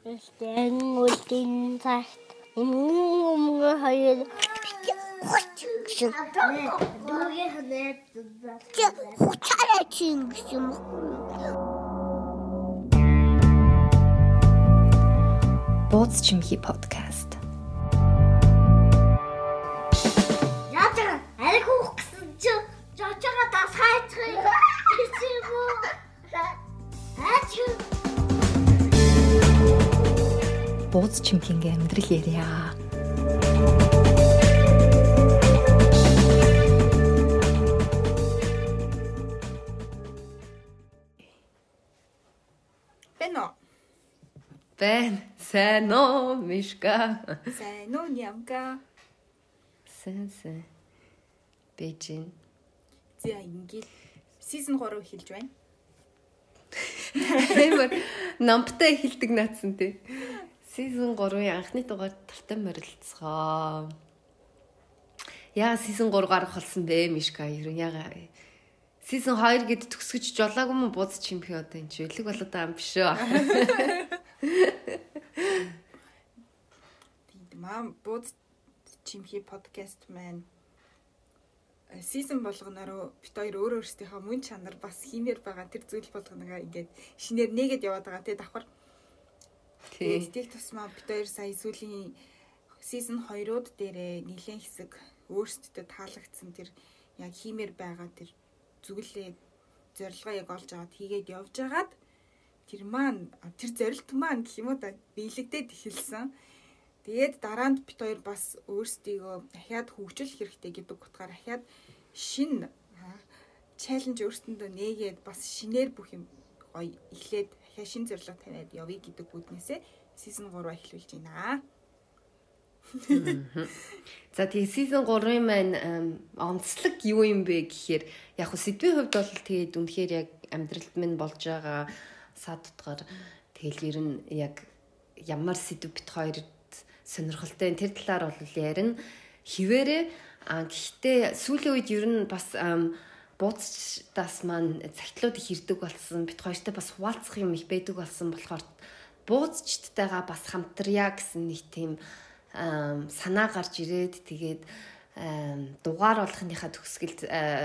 Стэн үлдэн цагт өмнө хоёр гэсэн. Дүүгээ ханаад хуцаараа чинь гэсэн юм. Бууз чимхи подкаст. Яатар аль хөөх гэсэн чи жочоо дас хайцгыг ирсэн үү? Бууз чимхинගේ амьдрал ярья. Бэн сайн уу Мишка? Сайн уу Нямка? Сайн. Бэжин. За ингээд season 3 эхэлж байна. Амар намптай эхэлдэг наадсан тий. Season 3-ын анхны дугаар тартай морилцгоо. Яа season 3 гарах болсон бэ Мишка? Яга. Season 2 гэд төгсгөж жолоогүй мө бууз чимхи одоо энэ ч өлөг болоод байгаа юм биш үү? Мам бууз чимхи подкаст маань season болгоноор бит хоёр өөр өөрсдийнхөө мөн чанар бас хиймээр байгаа тэр зүйл болгоногаа ингээд шинээр нэгэд яваад байгаа тий давхар. Тэгээд тусмаа бит хоёр сая сүүлийн season 2-ууд дээрээ нэлээд хэсэг өөрсдөд таалагдсан тэр яг хиймээр байгаа тэр зүйлээ зорилгоо яг олж аваад хийгээд явж агаад тэр зорилт маань гэх юм уу да биелэгдээд эхэлсэн. Тэгээд дараанд бит хоёр бас өөрсдийгөө дахиад хөгжүүлэх хэрэгтэй гэдэг утгаар дахиад шинэ чаленж өөрсдөндөө нээгээд бас шинээр бүх юм гоё эхлээд дахиад шинэ зорилго тавиад явъя гэдэг үднээсээ season 3 эхлүүлж байна. За тэгээ season 3-ын маань онцлог юу юм бэ гэхээр яг хөө сэдвийн хувьд бол тэгээд үнэхээр яг амьдралд минь болж байгаа сад утгаар тэгэл ер нь яг ямар сэдв бит хоёрт сонирхолтой тэр талаар бол ярина. Хിവэрэ гэхдээ сүүлийн үед ер нь бас бууцдаас маань цагтлууд их ирдэг болсон. Бит хоёртай бас хуваалцах юм их байдаг болсон болохоор бууцчдтайгаа бас хамтрая гэсэн нэг тийм санаа гарч ирээд тэгээд дугаар болгохынхаа төгсгөлд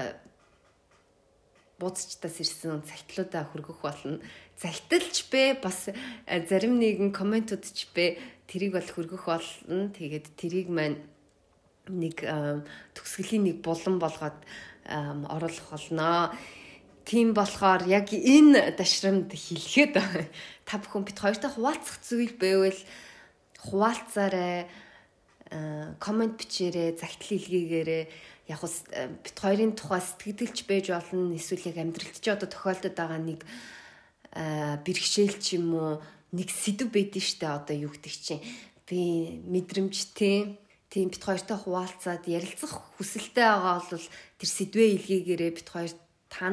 бууцчдаас ирсэн цагтлуудаа хүргэх болно. Загталч бэ бас зарим нэгэн комментууд ч бэ тэрийг бол хүргэх болно. Тэгээд тэрийг маань нэг төгсгөлийн нэг булан болгоод оруулах болно. Тийм болохоор яг энэ дашрамд хэлэхэд та бүхэн бит хоёртой хуваалцах зүйл байвал хуваалцаарай, коммент бичээрэй, загтал илгээгээрэй. Яг бит хоёрын тухай сэтгэлдэлж байж болно. Эсвэл яг амьдралд ч одоо тохиолдод байгаа нэг бэрхшээл ч юм уу нэг сэдв байдэн штэ одоо юу гэдэг чинь би мэдрэмжтэй тийм бит хоёртой хуваалцаад ярилцах хүсэлтэй байгаа бол тэр сэдвээ илгээгээрээ бит хоёр та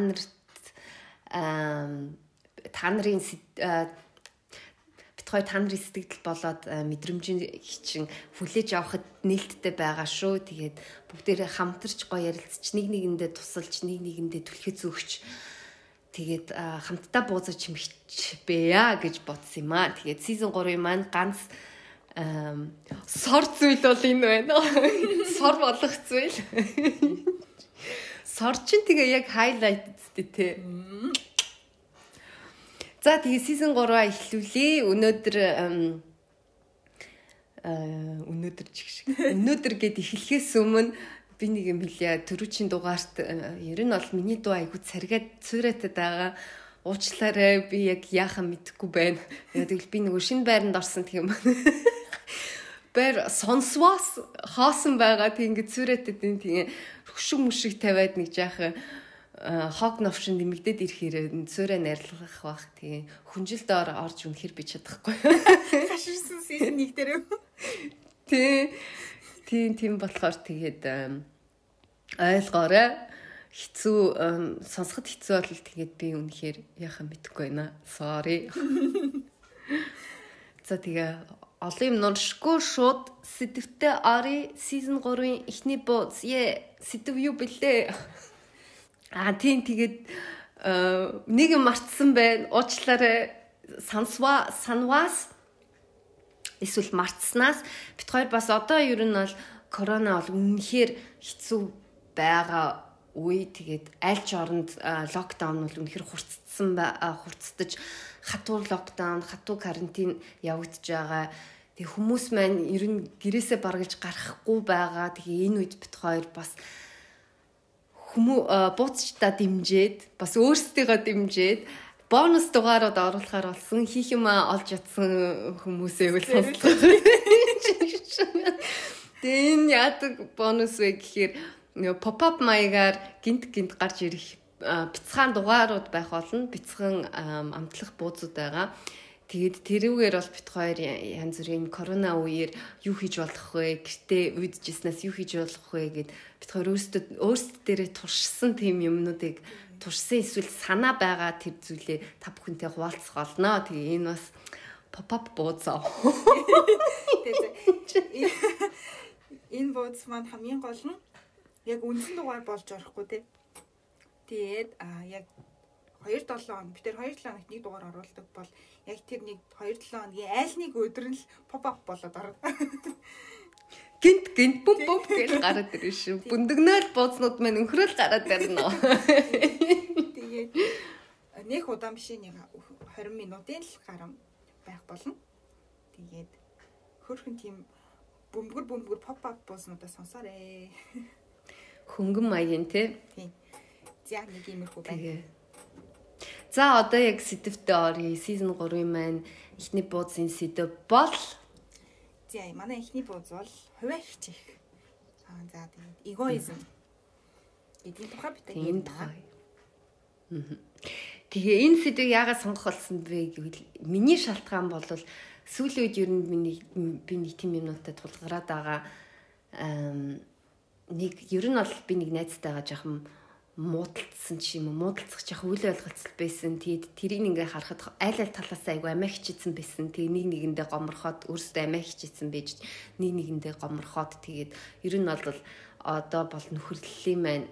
нарын сэтгэл болоод мэдрэмжийн чинь хүлээж авахд нээлттэй байгаа шүү. Тэгээд бүгдээрээ хамтарч гоё ярилцч нэг нэгэндээ тусалж нэг нэгэндээ түлхэж өгч тэгээд хамтдаа буузаж чимхэж бэя гэж бодсон юм аа. Тэгээд season 3-ын маань ганц сор зүйл бол энэ байна. Сор болох зүйл. Сор чинь тэгээ яг highlight тий. За тэгээ season 3-аа эхлүүлээ. Өнөөдөр гээд эхлэхээс өмнө би нэг юм хэлье. Төрүүчийн дугаарт ер нь бол миний дуу айгуу царгаад цуурайтад байгаа. Уучлаарай би яг яахаа мэдэхгүй байна. Тэгэл би нөгөө шинэ байранд орсон тийм юм. Бэр сонсвоос хоосон байгаа тийм ингэ цуурайтад тийм хөшиг мөшиг тавиад нэг жаахан хог новшин нэмэгдээд ирэхээр цөөрэ найрлах бах тийм хүнжилдээр орж үнэхэр би чадахгүй. Хаширсан season 1 дээр. Тийм болохоор тэгээд ойлгоорой. Хэцүү сонсоход хэцүү бол тэгээд би үнэхээр яхаа мэдэхгүй байна. Sorry. За тэгээ олон юм нуршгүй шууд сэдвтэ ари season 3-ын эхний бууз. Сэдв юу бэлээ? Тийм тэгээд нэг юм мартсан байна. Уучлаарай. Санваас эсвэл мартснаас бид хоёр бас одоо ер нь бол корона бол үнэхээр хэцүү байгаа үе. Тэгээд аль ч оронд локдаун бол үнэхээр хурцдаж хатуур локдаун, хатуу карантин явагдаж байгаа. Тэг хүмүүс маань ер нь гэрээсээ баргалж гарахгүй байгаа. Тэгээ энэ үед бит хоёр бас бууцчдаа дэмжиж, бас өөрсдийгөө дэмжиж бонус дугаарууд оруулахаар болсон. Хийх юм олж ятсан хүмүүсээ үл сонсдог. Тэгээ энэ яадаг бонус вэ гэхээр pop-up маягаар гинт гарч ирэх бяцхан дугаарууд байх болно. Бяцхан амтлах бууцуд байгаа. Тэгээд тэрүүгээр бол бит хоёр янз бүрийн корона үеэр юу хийж болох вэ? Гэртээ үйдэжснээс юу хийж болох вэ гэд бит хоёр өөрсдөө дээрээ туршсан тийм юмнуудыг туршсан эсвэл санаа байгаа тэр зүйлээ та бүхэнтэй хуваалцах болно. Тэгээ энэ бас pop-up бууцаа. Энэ бууц маань хамгийн гол нь яг үндсэн дугаар болж орохгүй тий. Тэгээд яг 2-7 хоног бид 2-7 хоногт нэг дугаар оруулдаг бол яг тэр нэг 2-7 хоногийн айл нэг өдөр нь pop-up болоод орно. Гинт пуп гэж гараад ирж шүү. Бүндгнээр буузнууд маань өнхрөөл гараад ирнэ. Тэгээд нэг удаан биш нэг 20 минутын л гарам байх болно. Тэгээд хөрхөн тийм бөмбөр pop-up буузнуудаа сонсоорой. Хөнгөн маягийн тий. За нэг иймэрхүү байна. За одоо яг сэдвтэ оръё. Season 3-ын маань эхний бууцын сэдв бол за манай эхний бууз бол хувиа хичих. За тэгээд эгоизм. Эдийн тухай бид ярьна. Тэгээ энэ сэдвийг яагаад сонгох болсон бэ гэвэл миний шалтгаан бол сүүлийн үед ер нь би нэг тийм юмнуудад тулгараад байгаа. Нэг ер нь бол би нэг найзтайгаа жоохон муудалцсан ч юм уу, муудалцах жоохон үйл ойлголцол байсан. Тэгээд тэрийг ингээ харахад аль талаас айгу амиа хичээсэн байсан. Тэгээд нэг нэгэндээ гоморхоод өөрөөсөө амиа хичээсэн байж нэг нэгэндээ гоморхоод тэгээд ер нь бол одоо бол нөхөрлөлийн маань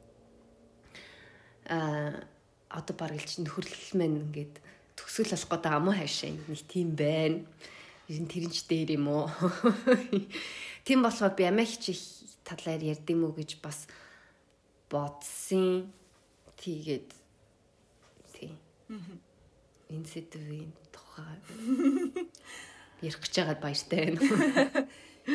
одоо баргалж нөхөрлөл маань ингээд төгсгөл болох гэдэг амуу хайшаа нэг тийм байна. Ер нь тэрэнч дээр юм уу? Тийм болохоор би амиа хичээх талаар ярьдим үү гэж бас бодсон. Тэгээд тий. Энэ сэдвийн тухай ярих гэж байгаа баяртай байна.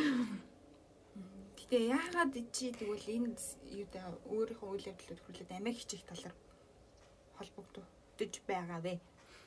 Тэгээ яагаад чи тэгвэл энэ юудаа өөрийнхөө үйл явдлууд хүлээд амиа хичээх талаар холбогдож байгаа вэ?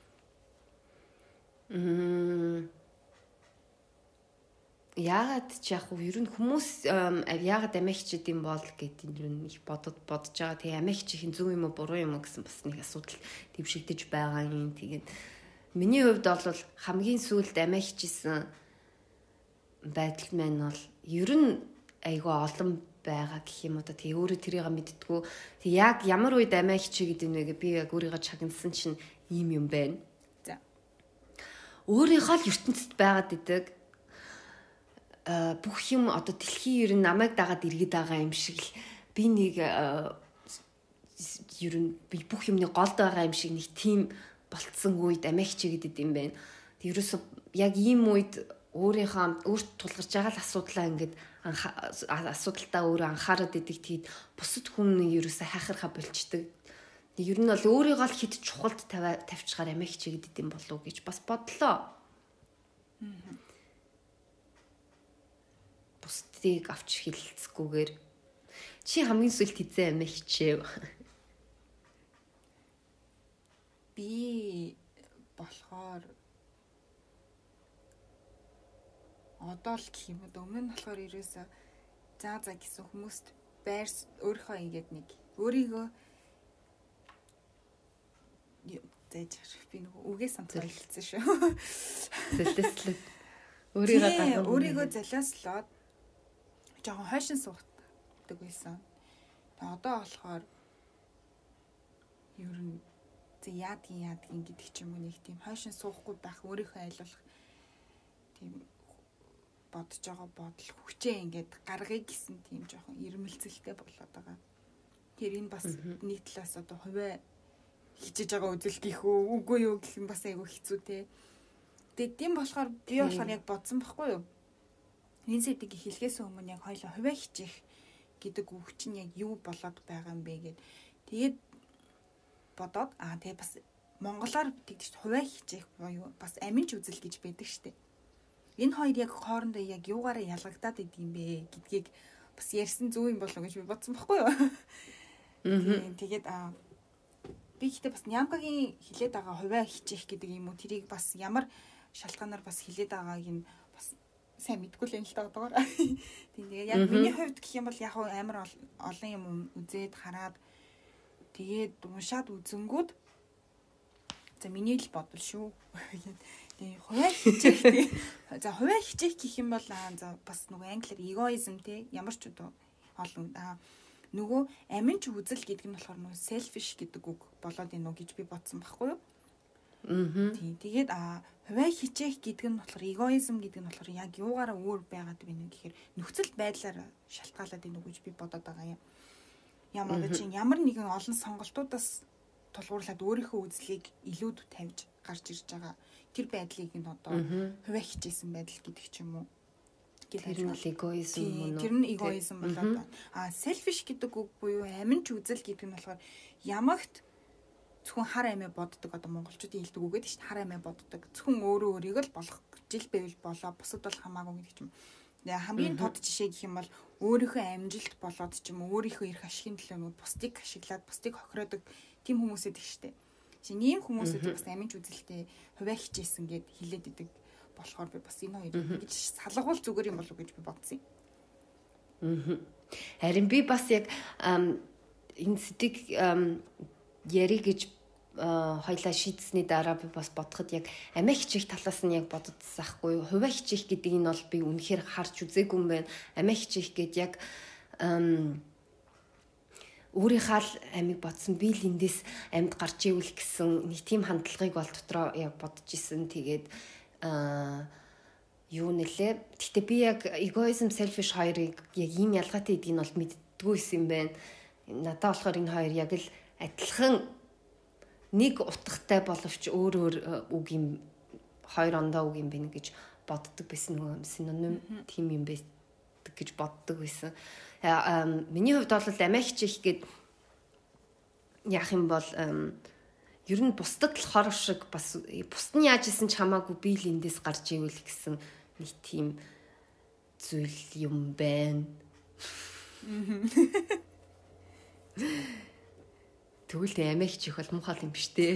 Яагаад ч яг уу ер нь хүмүүс яагаад амиа хичээд юм бол гэдэг юм их бодож байгаа. Тэгээ амиа хичээхийн зөв юм уу буруу юм уу гэсэн бас нэг асуудал дэвшигдэж байгаа юм. Тэгээд миний хувьд бол хамгийн сүүлд амиа хичээсэн байдал маань бол ер нь айгүй олон байгаа гэх юм уу та. Тэгээ өөрөө тэрийг мэддэггүй. Тэг яг ямар үед амиа хичээгээд байна вэ би яг өөрийгөө чагнасан чинь ийм юм байна. За. Өөрийнхөө л ертөнцид байгаад идэг бүх юм одоо дэлхийн ер нь намайг дагаад иргэд байгаа юм шиг л би нэг ер нь би бүх юмны голд байгаа юм шиг нэг тийм болцсон үед амиа хичээгээд идэм байна. Тэг ерөөсө яг ийм үед өөрийнхөө өөрт тулгарч байгаа л асуудлаа ингээд асуудалтаа өөрөө анхаарад идэг. Тэгэд бусад хүн ерөөсө хайхархаа болчдөг. Ер нь бол өөрийгөө л хит чухалд тавьчихаар амиа хичээгээд идэм болов уу гэж бас бодлоо. Бусдыг авч хилцгүүгээр чи хамгийн сүүлд хизээ амиа хичээв. Би болохоор одоо л гэх юм уу өмнө нь болохоор ерөөсөө за гэсэн хүмүүст байр өөрийнхөө ингээд нэг өөрийгөө зээж би нөгөө үгээ сануулсан шүү. Зэлтэслэг өөрийгөө залааслаад жоохон хойшин суудаг байсан. Тэгээ одоо болохоор ер нь яадгийн гэдэг ч юм уу нэг тийм хойшин суухгүй байх өөрийнхөө айлуулах тийм бодож байгаа бодол хүчээ ингээд гаргая гэсэн тийм жоохон ирмэлцэлтэй болоод байгаа. Тэр энэ бас нэг талаас одоо хувиа хичээж байгаа үзэл гэх үү үгүй юу гэх юм бас айгүй хэцүү те. Тэгээд тийм болохоор би болохоор яг бодсон байхгүй юу? Энэ сэдвийг хэлхээс өмнө яг хоёлаа хувиа хичээх гэдэг үг чинь яг юу болоод байгаа юм бэ гэд. Тэгээд бодоод тэгээд бас монголоор тэгж хувиа хичээх буюу бас аминч үзэл гэж байдаг штеп. Энэ хоёр яг хоорондоо яг юугаараа ялгагдаад идэм бэ гэдгийг бас ярьсан зөв юм болов уу гэж би бодсон байхгүй юу? Тэгээд би ихтэй бас Нямкагийн хилээд байгаа хувиа хичээх гэдэг юм уу тэрийг бас ямар шалтгаанаар бас хилээд байгааг нь бас сайн мэдгүй л юм л таадгаар. Тэгээд яг миний хувьд гэх юм бол яг амар олон юм үзээд хараад тэгээд уншаад үзэнгүүд за миний л бодол шүү. Тэгээд хувиа хичээх за хувиа хичээх гэх юм бол за бас нөгөө англиар эгоизм те ямар ч удаа олон нөгөө аминч үзэл гэдэг нь болохоор нөгөө selfish гэдэг үг болоод ийнө гэж би бодсон байхгүй юу? Тийм. Тэгээд хувиа хичээх гэдэг нь болохоор эгоизм гэдэг нь болохоор яг юугаараа өөр байгаад байна гэхээр нөхцөл байдлаар шалтгаалаад ийнө гэж би бодоод байгаа юм. Ямар нэгэн олон сонголтуудаас тулгуурлаад өөрийнхөө үзлийг илүүд тавьж гарч ирж байгаа. Тэр байдлыг нь одоо хувиа хичээсэн байдал гэдэг ч юм уу. Тэр нь эгоизм мөн үү? Тэр нь эгоизм болоод байна. Selfish гэдэг үг буюу аминч үзэл гэдэг нь болохоор ямагт зөвхөн хар амиа боддог одоо монголчуудын хэлдэг үг гэдэг чинь хар амиа боддог. Зөвхөн өөрөө өөрийг л болох жил байвал болоо бусад бол хамаагүй гэдэг юм. Тэгээ хамгийн тод жишээ гэх юм бол өөрийнхөө амжилт болоод ч юм өөрийнхөө эрх ашигын төлөө бусдыг ашиглаад бусдыг хохироодог тийм хүмүүсэд их штэ. Ийм хүмүүсэд бас аминч үзэлтэй хувиа хичээсэн гэд хэлээд идэг болохоор би бас энэ хоёрыг гэж салгуул зүгээр юм болов уу гэж би бодсон юм. Харин би бас яг энэ сэдвийг яри гэж хоёлаа шийдсэний дараа би бас бодоход яг амиа хичээх талаас нь яг боддсон ахгүй юу. Хувиа хичээх гэдэг нь бол би үнэхээр харж үзээгүй юм байна. Амиа хичээх гэдэг яг өөрийнхөө л амиг бодсон би л эндээс амьд гарч ивэл гэсэн нэг тийм хандлагыг бол дотроо яг бодож исэн. Тэгээд юу нэлээ. Гэхдээ би яг эгоизм, selfish хоёрыг яг ийм ялгаатай гэдгийг нь бол мэддгүйсэн юм байна. Надад болохоор энэ хоёр яг л адилхан нэг утгатай боловч өөр үг юм хоёр ондоо үг юм байна гэж боддог байсан нөгөө синоним тийм юм байдаг гэж боддог байсан. Миний хувьд бол амиа хичээх гээд яах юм бол ер нь бусдад л хор шиг бас бусд нь яаж исэн ч хамаагүй би л эндээс гарч ивэл гэсэн нэг тийм зүйл юм байна. Тэгвэл амиа хичээх бол муухай юм биш дээ.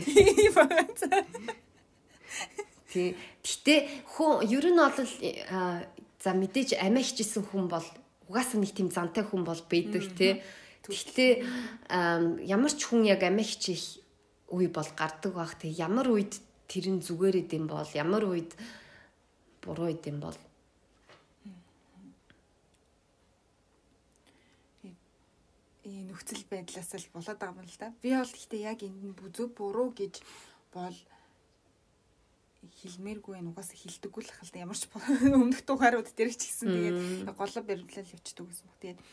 Гэхдээ хүн ер нь бол за мэдээж амиа хичээсэн хүн бол угаасаа нэг тийм зантай хүн бол байдаг тий. Гэхдээ ямар ч хүн яг амиа хичээх үе бол гардаг баг. Тэг ямар үед тэр нь зүгээр идэм бол ямар үед буруу идэм бол нөхцөл байдлаас л болоод байгаа юм л да. Би бол гэхдээ яг энэ бүзүү буруу гэж бол хэлмээргүй энэ угаасаа хэлдэггүй л хэл ямар ч өмнөх дугаарууд дээр ч гэсэн тэгээд голоо баримтлал явчихдаг гэсэн баг. Тэгээд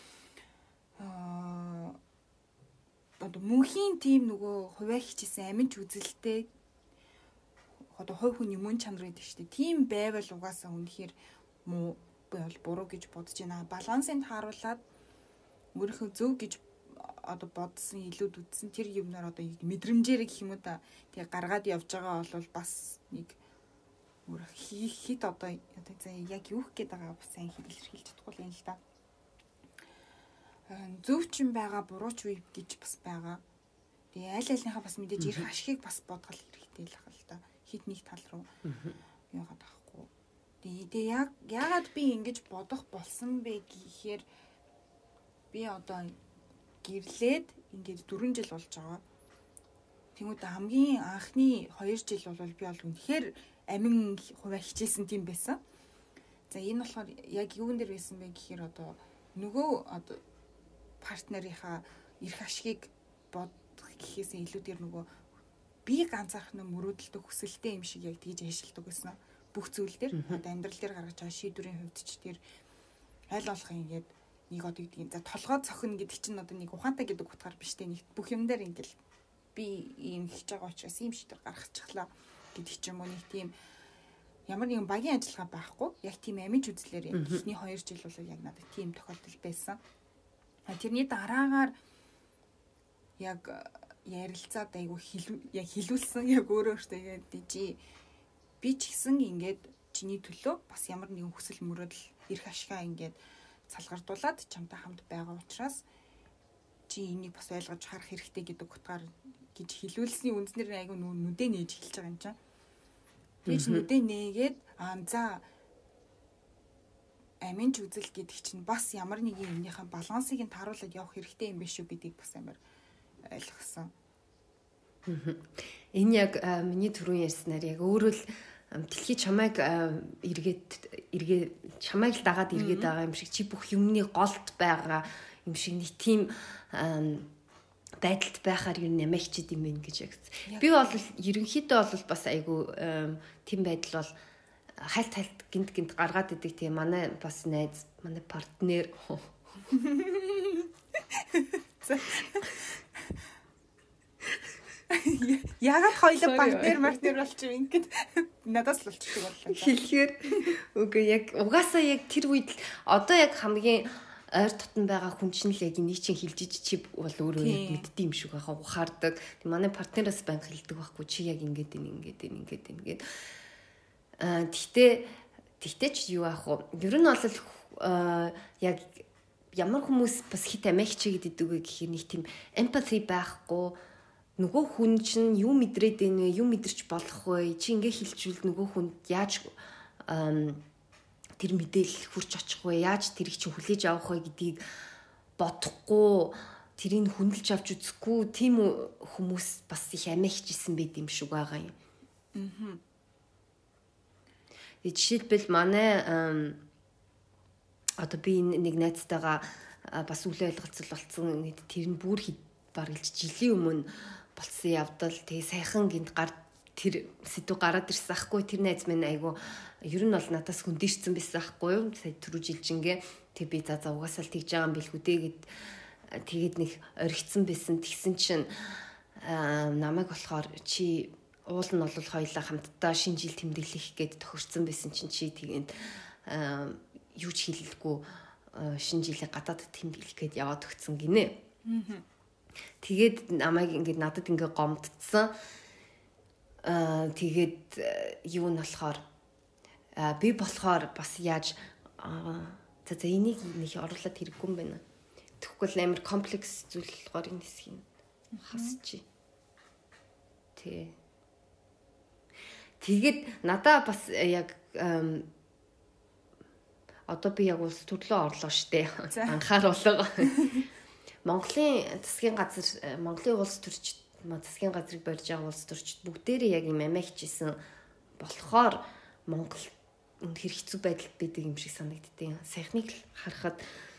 одоо мөнхийн тийм нөгөө хувиа хичээсэн аминч үзэлтэй одоо хувь хүний мөн чанар гэдэг шүү дээ. Тийм байвал угаасаа үнэхээр муу бол буруу гэж бодож байна. Балансыг харуулад өөрийнхөө зөв гэж одоо бодсон илүүд үтсэн тэр юмнаар одоо мэдрэмжээр гэх юм уу да. Тэгээ гаргаад явж байгаа бол бас нэг өөр хит одоо яг юу гэх гээд байгаа бас сайн хэлж чадахгүй юм л да. Зөв ч юм байгаа, буруу ч үе гэж бас байгаа. Тэгээ аль альнийхаа бас мэдээж ирэх ашигыг бас бодгол хэрэгтэй л ахал та. Хит нэг тал руу яагаад байхгүй. Тэгээ яагаад би ингэж бодох болсон бэ гэхээр би одоо гэрлээд ингээд 4 жил болж байгаа. Тэнгүүд хамгийн анхны 2 жил бол би бол үнэхээр амин хувиа хичээсэн тийм байсан. За энэ болохоор яг юун дээр байсан бэ гэхээр одоо нөгөө одоо партнерийнхаа эрх ашигыг бодох гэхээсээ илүүгээр нөгөө би ганцаархнаа мөрөөдөлтөг хүсэлтэй юм шиг яг тэгж ажилладаг гэсэн бүх зүйл дээр одоо амьдрал дээр гаргаж байгаа шийдвэрийн хувьд ч тэр аль болох ингээд нэг одоо гэдгийг за толгой цохино гэдэг чинь одоо нэг ухаантай гэдэг утгаар биш те нэг бүх юм дээр ингээл би ийм хийж байгаа учраас ийм шийдвэр гаргачихлаа гэдэг ч юм уу нэг тийм ямар нэгэн багийн ажиллагаа байхгүй. Яг тийм амиж үзлээр яг эхний 2 жил бол яг надад тийм тохиолдол байсан. Тэрний дараагаар яг ярилцаад айгу хэлүүлсэн яг өөрөө өөртөө тэгээд би ч гэсэн ингээд чиний төлөө бас ямар нэгэн хүсэл мөрөөдөл эрх ашгаа ингээд салгардуулаад чамтай хамт байгаа учраас чи энийг бас ойлгож харах хэрэгтэй гэдэг утгаар гэж хэлүүлсний үндснэр айгу нүдэ нээж хэлж байгаа юм чинь. Тэгж нүдэ нээгээд за аминч үзэл гэдэг чинь бас ямар нэгэн юмнийхаа балансыг нь тааруулаад явах хэрэгтэй юм биш үү гэдгийг бас амар ойлгосон. Энэ яг миний түрүүн ярьснаар яг өөрөө л дэлхий чамайг эргээд чамайг л дагаад эргээд байгаа юм шиг чи бүх юмны голд байгаа юм шиг нэг тийм байдалд байхаар юу нэмэгчд юм байна гэж яг. Би бол ерөнхийдөө бол бас айгу тийм байдал бол хальт гинт гаргаад идэг тийм манай бас найз манай партнер ягаад хоёулаа партнер болчих юм ингээд надаас л болчихдог боллоо. Хэлэхээр үгүй яг угаасаа яг тэр үед одоо яг хамгийн ойр дотн байгаа хүн чинь л яг энийг чинь хэлж ич чи бол өөрөө мэддэг юм шиг байхаа ухаардаг. Манай партнераас банк хэлдэг байхгүй чи яг ингээд. Тэгтээ ч юу аах вэ? Ер нь бол яг ямар хүмүүс бас хит амигч гэдэг үг гэхээр нэг тийм empathy байхгүй. Нөгөө хүн чинь юу мэдрээд байна вэ? Юу мэдэрч болох вэ? Чи ингээ хэлчихвэл нөгөө хүнд яаж тэр мэдээлэл хүрч очих вэ? Яаж тэрийг чинь хүлээж авах вэ гэдгийг бодохгүй, тэрийг хүндэлж авч үзэхгүй тийм хүмүүс бас их амигчсэн байд юм шиг байгаа юм. Жишээлбэл манай одоо би нэг найзтайгаа бас үл ойлголцол болцсон. Тэр нь бүр бараг жилийн өмнө болсон явдал. Тэгээ сайхан гинт тэр сэдв гараад ирсэн ахгүй. Тэр найз минь айгу ер нь бол надаас хөндөрсөн байсан ахгүй юу. Сая түрүү жилжингээ тэг би за угаасаа л тэгж байгаа юм билгүү дээ тэгээд нэг оригдсан байсан. Тэгсэн чинь намайг болохоор чи уул нь бол хоёлаа хамтдаа шинэ жил тэмдэглэх гээд тохирсон байсан чинь чи тэгээд юу ч хэлэлгүй шинэ жилийн гадаад тэмдэглэх гээд яваад өгсөн гинэ. Тэгээд намайг ингээд надад ингээд гомдсон. Тэгээд юу нь болохоор би болохоор бас яаж за энийг нэг оруулаад хэрэггүй юм байна. Тэгэхгүй амар комплекс зүйл болохоор энэ хэсгийг хасчих. Тэгээд надаа бас яг одоо би яг улс төрлөө орлоо штэ. Анхааруулга. Монголын засгийн газар, Монголын улс төрчид, засгийн газрыг барьж байгаа улс төрчид бүгдээрээ яг юм амигчсэн болохоор Монгол үнэхээр хэцүү байдалд байдаг юм шиг санагддیں۔ Сайхныг л харахад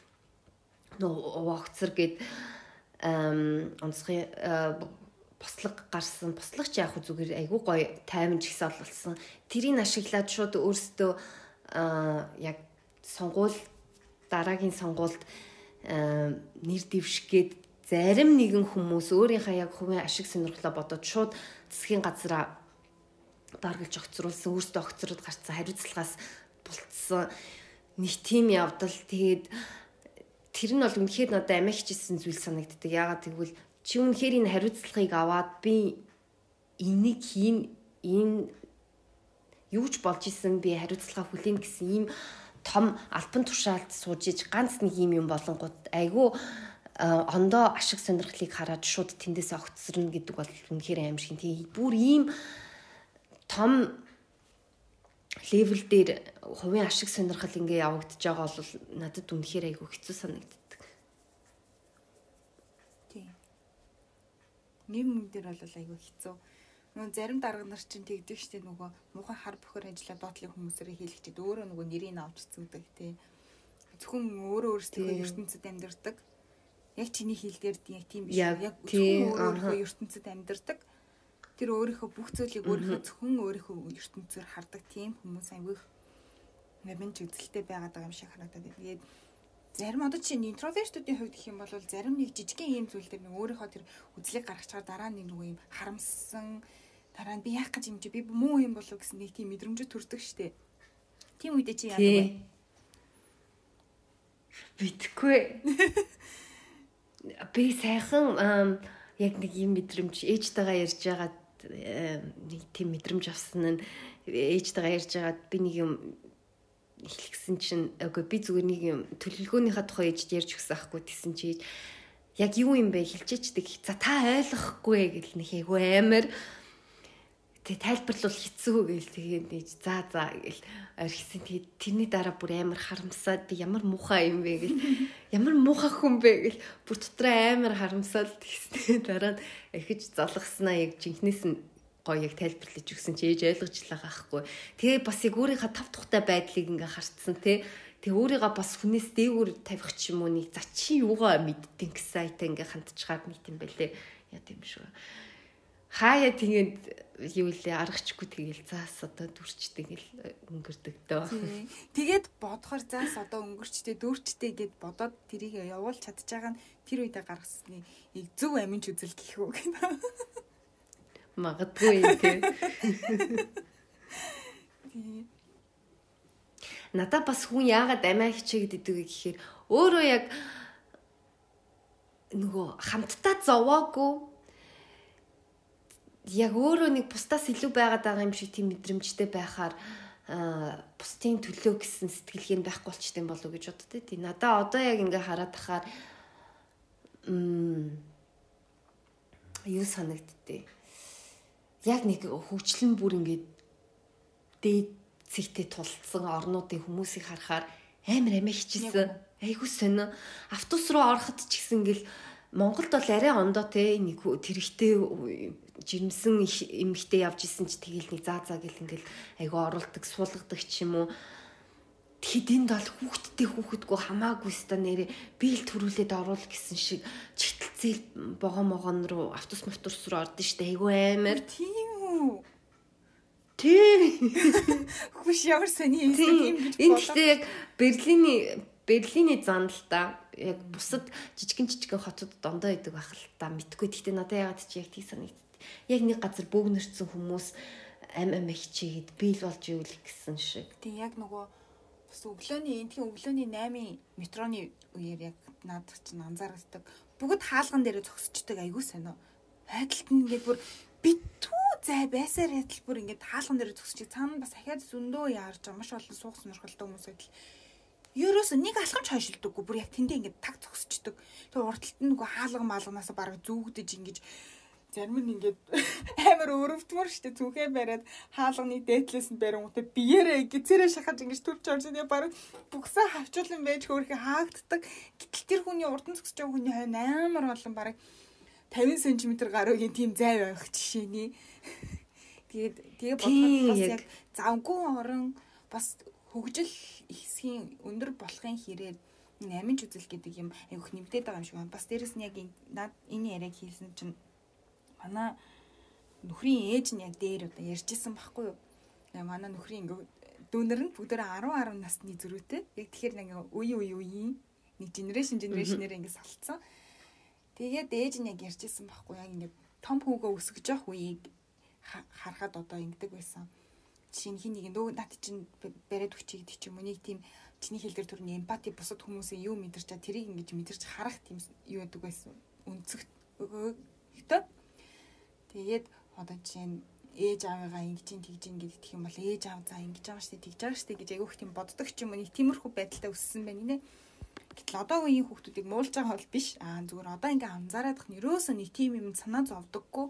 Вогцэр гээд онцгой бослог гарсан. Бослог ч яг зүгээр айгүй гоё таймж ихсэл болсон. Тэрийг ашиглаад шууд өөрсдөө яг дараагийн сонгуульд нэр дэвшгээд зарим нэгэн хүмүүс өөрийнхөө яг хувийн ашиг сонирхлоо бодоод шууд засгийн газараа даргалж огцруулсан, өөрсдөө огцроод гарцсан, хариуцлагаас булцсан нэг тийм явдал. Тэгээд тэр нь бол үнэхээр надад амигчсэн зүйл санагддаг. Яагаад гэвэл чи үнэхээр энэ хариуцлагыг аваад би энийг энэ юу ч болж исэн би хариуцлага хүлээн гэсэн ийм том албан тушаалд сууж иж ганц нэг юм болонгууд айгүй ондоо ашиг сонирхлыг хараад шууд тэндээс огцсорно гэдэг бол үнэхээр аим шиг. Тэгээ бүр ийм том левел дээр хувийн ашиг сонирхол ингээ явагдаж байгаа бол надад үнэхээр айгүй хэцүү санагддаг. Тийм. Нэм дээр бол айгүй хэцүү. Нөгөө зарим дарга нар чинь тэгдэг штеп нөгөө муухай хар бохор ажиллаад доотлын хүмүүсээрээ хийлэгчээд өөрөө нөгөө нэрийг авчирсан гэдэг тий. Зөвхөн өөрөө өөрсдөө ертөнцид амьдардаг. Яг чиний хэл дээр яг тийм биш. Яг зөвхөн өөрөө ертөнцид амьдардаг. Тэр өөрийнхөө бүх зүйлийг зөвхөн өөрийнхөө ертөнцөөр хардаг тийм хүмүүс аягүй нэмж үзэлтэй байгаад байгаа юм шиг харагдаад байна. Тэгээд зарим одоо чинь интровертуудын хувьд гэх юм бол зарим нэг жижигхэн ийм зүйл дээр нэг өөрийнхөө тэр үзлийг гаргаж чагаар дараа нэг нөгөө юм харамссан Дараа нь би яах гэж юм чи би муу юм болов гэсэн нэг тийм мэдрэмж төрдөг штэ. Тийм үедээ чи яадаг вэ? Битгүй. Би сайхан яг нэг юм мэдрэмж ээжтэйгээ ярьж байгаад нэг тийм мэдрэмж авсан нь ээжтэйгээ ярьж байгаад би нэг юм хэлсэн чинь үгүй би зүгээр нэг юм төлөвлөгөөнийхөө тухай ээжд ярьж өгсөн аахгүй тэгсэн чи яг юу юм бэ хэлчихдэг. За та ойлгохгүй гэл нэг айгу амар тэг тайлбарлал хэцүү гэл тэгээд за гэл орхисон. Тэгээд тэрний дараа бүр амар харамсаад би ямар муухай юм бэ гэл ямар муухай хүн бэ гэл бүр дотроо амар харамсаад тэгснэ. Дараа нь эхэж золгосноо яг жинхнээс нь гоё яг тайлбарлаж өгсөн чи ээж ойлгож байгаа байхгүй. Тэгээ бас яг өөрийнхөө тав тухтай байдлыг ингээ харцсан те. Тэгээ өөрийгөө бас хүнээс дээгүүр тавих ч юм уу нэг за чи юугаа мэдтэн гэсэн айтаа ингээ хандчихаар нийт юм байлээ. Яа тийм шүү. Хаяа тэгээд юу лээ аргачгүй тэгээл заас одоо дүрчтэй гэл өнгөрдөг дөө. Тэгээд бодохоор заас одоо өнгөрчтэй дүрчтэй гэд бодоод тэрийг явуулж чадж байгаа нь тэр үедээ гаргасны зөв аминч үзэл гэх үү гэнэ. Магадгүй тийм. Надад бас хүн яагаад амиа хичээгээд идэв гэхээр өөрөө яг нөгөө хамтдаа зовоогүй яг өөрөө нэг бусдаас илүү байгаад байгаа юм шиг тийм мэдрэмжтэй байхаар бусдын төлөө гэсэн сэтгэлгээ нь байхгүй болчтой болов уу гэж боддоо тий. Надаа одоо яг ингээ хараад тахаар юу санагддээ. Яг нэг хөгжлөн бүр ингээд дээд цэгтээ тулцсан орнуудын хүмүүсийг харахаар амар амиа хичээсэн. Айгуу сонио. Автобус руу ороход ч гэсэн ингээл Монголд бол арай ондоо те нэг тэрэгтэй жирэмсэн эмэгтэй явж исэн ч тэгэл нэг заа гэл ингээл айгуу оруулдаг суулгадаг ч юм уу. Тэгэхэд энд бол хүүхдтэй хамаагүй ста нэрээ биел төрүүлээд оруул гэсэн шиг чигтэлцэл богон руу автобус руу ордон штэ айгуу амар. Тийм үү. Тийм. Хүш ямар сони юм гэж бодлоо. Энд гэхдээ яг Берлиний зан л та яг бусад жижигэн хотод дондоо идэг байх л та мэдгүй. Гэхдээ надад ягаад чи яг тийг санагдав. Яг нэг газар бөөгнөрсөн хүмүүс ам хичээгээд биел болж ивэл гэсэн шиг. Тийм яг нөгөө бас өглөөний 8-ын метроны үеэр яг надад чинь анзаардаг. Бүгд хаалган дээр зогсчдаг айгуу сонио. Хайдалт нь ингээд бүр битүү зай байсаар ядал бүр ингээд хаалган дээр зогсчих. Цаана бас ахаад зөндөө яарч байгаа маш олон суух сонирхолтой хүмүүс байдал. Ерөөсөө нэг алхамч хойшилдаггүй бүр яг тэндээ ингээд таг зогсчдаг. Тэгээ урталт нь нөгөө хаалган бараг зүгдэж ингэж зарим нь ингээд амар өрөвдмөр штэ зүхээ бариад хаалганы дээдлээс нь барингуудаа биеэрээ гизээрээ шахаж ингэж төрч орж байгаа бараг бүгсээ хавчуулан байж хөөрхө хаагддаг. Гэтэл тэр хүний урдан зогсож байгаа хүний хойно амар олон бараг 50 см гаруйгийн тийм зай байх жишээний. Тэгээ бодоход бас яг завгүй орон бас хөгжил хэсгийн өндөр болохын хэрээр аминч үзэл гэдэг юм айгүйх нэмэгдээд байгаа юм шиг байна. Бас дээрэс нь яг энэ яриаг хийсэн чинь манай нөхрийн ээж нь яг дээр удаа ярьжсэн байхгүй юу. Манай нөхрийн дүүнер нь бүгдээрээ 10 насны зөрүүтэй. Яг тэгэхээр нэг үеийн нэг генерашнээр ингэ салцсан. Тэгээд ээж нь яг ярьжсэн байхгүй яг ингэ том хүүгөө өсгөж явах үеийг харахад одоо ингэдэг байсан. Жишээ нь хин нэг над чинь бариад өгчий гэдэг ч юм уу нэг тийм чиний хэлдэр төрний эмпати бусад хүмүүсийн юу мэдэрч чад тэрийг ингэж мэдэрч харах тийм юу байдаг байсан. Үнцэгт өгөөтэй. Тэгээд одоо чинь ээж аавыгаа ингэж тэгж гэдэг юм бол ээж аав за ингэж байгаа штэ тэгж байгаа штэ гэж айгүйх тийм боддог ч юм уу нэг тиймэрхүү байдалтай өссөн байна нэ. Гэтэл одоо үеийн хүүхдүүдийг муулж байгаа бол биш. Зүгээр одоо ингээ анзаараадах нь ерөөсөө нэг тийм юм санаа зовдөггүй.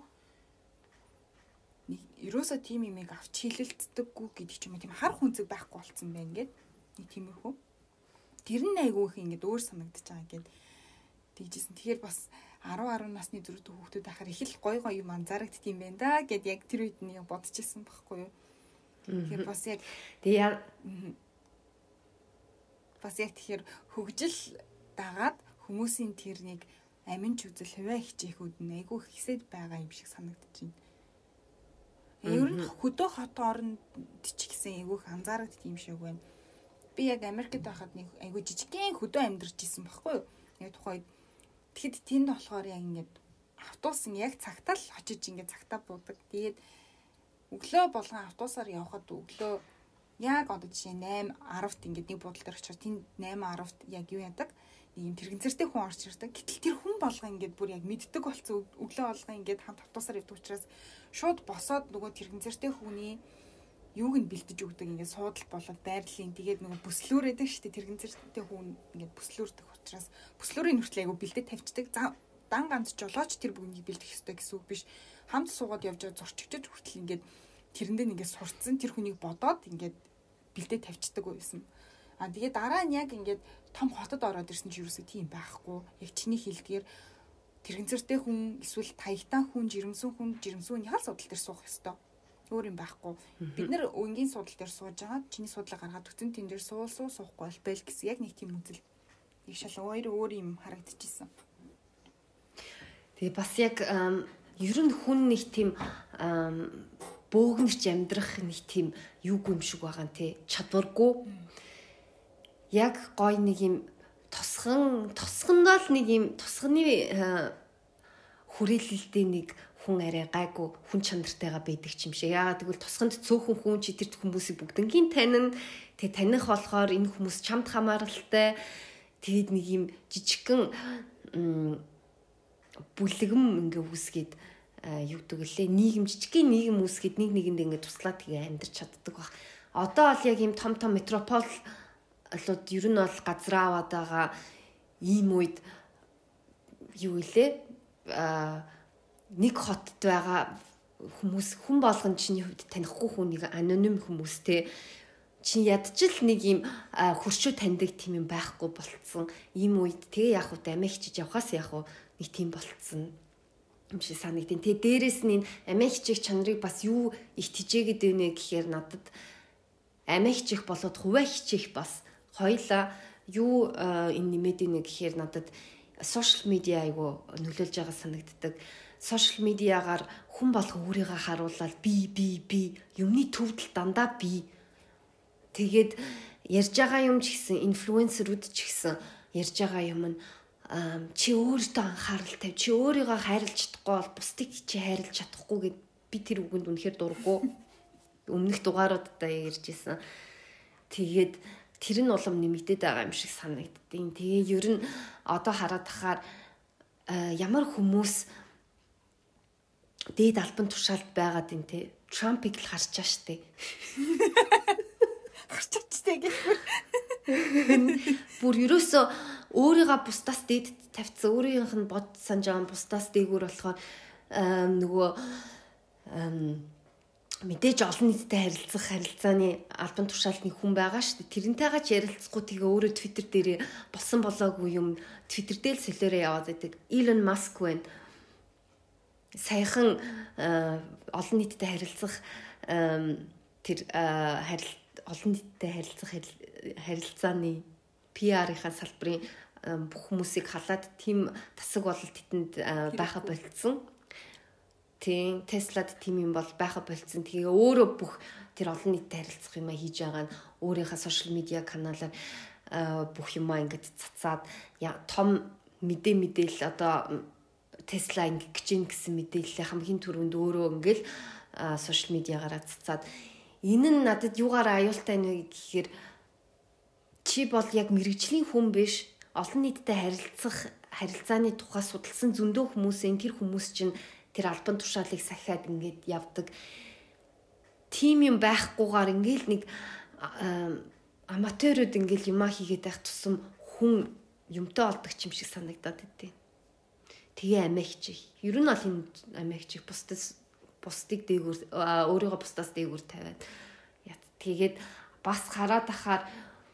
Ерөөсөө тийм юмыг авч хилэлцдэггүй гэдэг ч юм уу тийм хар хүнцэг байхгүй болцсон байна ингээд нэг тиймэрхүү. Тэр нь айгүйх ингээд өөр санагдаж байгаа ингээд тэгжсэн. Тэгэхээр бас 10 насны зөрүүтэй хүүхдүүд ахаар их л гой юм анзаарагдт юм байна да гэд яг тэр үед нь бодчихсон байхгүй юу. Тэгэхээр бас яг тэгэхээр хөгжил дагаад хүмүүсийн тэрнийг аминч үзэл хувиа хичээхүүд нь айгүй хэсэд байгаа юм шиг санагдаж байна. Ер нь хөдөө хот оронд ч гэсэн айгүйх анзаарагдт юм шиг байна. Би яг Америкт байхад нэг айгүй жижигхэн хөдөө амьдарч исэн байхгүй юу. Яг тухайд тэгэхэд тэнд болохоор яг ингээд автобус нь яг цагтаа л очиж ингээд цагтаа буудаг. Тэгээд өглөө болгон автобусаар явхад өглөө яг одоо жишээ 8:10-т ингээд нэг буудлын дээр очиж тэнд 8:10-т яг юу яадаг? Нэг юм тэрэгцэртэй хүн орж ирдэг. Гэтэл тэр хүн болгон ингээд бүр яг мэддэг болсон өглөө болгон ингээд хамт автобусаар явдаг учраас шууд босоод нөгөө тэрэгцэртэй хүний юуг нь бэлдэж өгдөг ингээд суудал болоод байрлалын тэгээд нөгөө бүслүүрээдэг шүү дээ тэрэгцэртэй хүн ингээд бүслүүрдэг учраас бүслүүрийн хүртэл айгу бэлдэж тавьчихдаг. Дан ганц жолооч тэр бүгнийг бэлдэх ёстой гэсэн үг биш. Хамт суугаад явж байгаа зурчигчд хүртэл ингээд тэрэндээ ингээд сурцсан тэр хүнийг бодоод ингээд бэлдээ тавьчихдаг байсан. Тэгээд дараа нь яг ингээд том хотод ороод ирсэн чи юусоо тийм байхгүй. Яг чиний хэлдгээр тэрэгцэртэй хүн эсвэл таягтан хүн, жирэмсүүн ял судал дээр суух ёстой. Өөр юм байхгүй. Бид нэр өнгийн судал дээр сууж байгаа. Чиний судлаа гаргаад өгсөн тэн дээр суухгүй байл гэсэн яг нэг тийм үзэл. Их шал өөр юм харагдчихсан. Тэгээ бас яг ер нь хүн нэг тийм бөөгнөрч амьдрах нэг тийм юугүй юм шиг байгаа нэ чадваргүй. Яг гой нэг юм тосгондоо л нэг юм тосгоны хүрээлэлтэй нэг хүн арай гайгүй хүн чанартайгаа байдаг юм шиг. Яагаад гэвэл тосгонд цөөхөн хүн чи тэр хүмүүсийг бүгднгийн танин тэгээ таних болохоор энэ хүмүүс чамд хамааралтай тэгээд нэг юм жижигхэн бүлэгм ингээ үүсгээд юу гэдэг лээ нийгэм жижигхэн нийгэм үүсгээд нэг нэгэнд ингээ туслаад тэгээ амьдарч чаддаг баг. Одоо бол яг ийм том метрополлууд ер нь бол газар аваад байгаа ийм үед юу гэлээ нэг хотод байгаа хүн болгон чиний хувьд танихгүй хүнийг аноним хүмүүстэй чи ядчил нэг юм хөршөө таньдаг тийм юм байхгүй болцсон. Ийм үед тэгээ яг уу амиахчиж явхаас яг уу нэг тийм болцсон юм шиг санагдیں۔ Тэгээ дээрэс нь энэ амиахчих чанарыг бас юу их тижээгээд байна гэхээр надад амиахчих болоод хуваа хичих бас хоёлаа юу энэ нэмээд ийнэ гэхээр надад сошиал медиа айгу нөлөөлж байгаа санагддаг. Сошиал медиагаар хүн болго өөрийгөө харуулаад би юмны төвдөл дандаа би тэгээд ярьж байгаа юм ч гэсэн инфлюенсерүүд ч гэсэн ярьж байгаа юм нь чи өөртөө анхаарал тавь чи өөрийгөө хайрлаж чадахгүй бол бусдыг чи хайрлаж чадахгүй гэд би тэр үгэнд үнэхээр дурггүй өмнөх дугааруудаа ярьж исэн. Тэгээд тэр нь улам нэмэгдээд байгаа юм шиг санагддیں۔ Тэгээ ер нь одоо хараад тахаар ямар хүмүүс дээд албан тушаалд байгаад юм те Трампыг л харчаа штэ. Харчаачтай гэхээр бүр ерөөсөө өөрийгөө бусдаас дээд тавьцсан өөрийнх нь бод санаж байгаа бусдаас дээгүүр болохоор нөгөө мэдээж олон нийтэд харилцах харилцааны албан тушаалны хүн байгаа шүү дээ. Тэрнтэйгээ ч ярилцахгүй тэгээ өөрөө Twitter дээр болсон болоогүй юм Twitter дээр л солиороо яваад байдаг. Elon Musk байна. Саяхан олон нийтэд харилцах тэр олон нийтэд харилцах харилцааны PR-ийнхаа салбарын бүх хүмүүсийг халаад тийм тасаг болол тэтэнд байха болцсон. Тийм Теслад тийм юм бол байха болцсон. Тэгээ өөрөө бүх тэр олон нийтэд харилцах юмаа хийж байгаа нь өөрийнхөө сошиал медиа каналаар бүх юмаа ингэж цацаад том мэдээлэл одоо Tesla ингэж гин гэсэн мэдээлэл хамгийн түрүүнд өөрөө ингээл сошиал медиагаараа цацаад энэ нь надад юугаар аюултай нэ гэхээр чи бол яг мэрэгжлийн хүн биш олон нийтэд харилцах харилцааны тухай судалсан зөндөө хүмүүсийн тэр хүмүүс чинь тэр албан тушаалыг сахиад ингээд явдаг. Тим юм байхгүйгээр ингээл нэг аматорууд ингээл юмаа хийгээд байх тусам хүн юмтай олдог юм шиг санагдаад байдیں۔ Тэгээ амиахчих. Ер нь бол энэ амиахчих бусдыг дээгүүр өөрийгөө бусдаас дээгүүр тавиад тэгээд бас хараад ахаар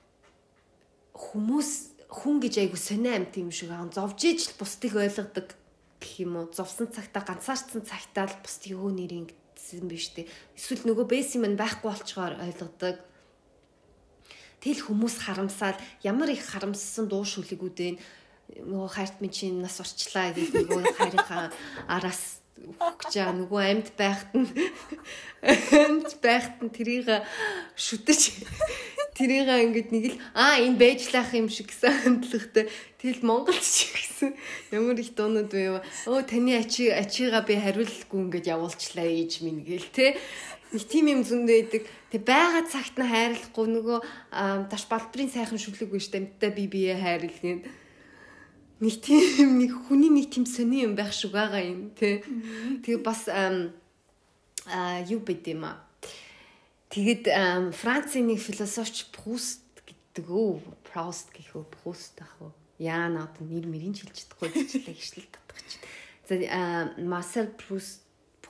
хүн гэж айгу сонио амт юм шиг зовж иж бусдыг ойлгодог гэх юм уу. Зовсон цагтаа ганцаарцсан цагтаа л бусдыг өө нэрийн гэсэн биш үү. Эсвэл нөгөө бэс юм байхгүй болчгоор ойлгодог. Тэл хүмүүс харамсаад ямар их харамссан дуу шүлгүүд вэ? Нөгөө хайрт минь чинь нас орчлаа гэж нөгөө хайрынхаа араас өгч байгаа нөгөө амьд байхад нь тэрийг шүтэж тэрийг ингээд нэг л энэ байжлах юм шиг гэсэн хандлагатай тэгэл Монголч гэсэн ямар их дуунууд байв. Таны ачигаа би хариулахгүй ингээд явуулчлаа ээж минь гээл те. Нэг тийм юм зөндөө байдаг. Тэг байгаа цагт нь хайрлахгүй нөгөө даш балбарын сайхан шүлэг биш тамтай бие хайрлах. Нэг тийм нэг хүний нэг тийм сони юм байх шиг байгаа юм тий. Тэгээ бас юу бэдэм а. Тэгээд Францын нэг философч Пруст гэдэг үү? Проуст гэх үү? Пруст ах уу? Яа наад нэр мэрийн хэлж чадахгүй гэжлээ гişлэл татах чинь. За Марсел Пруст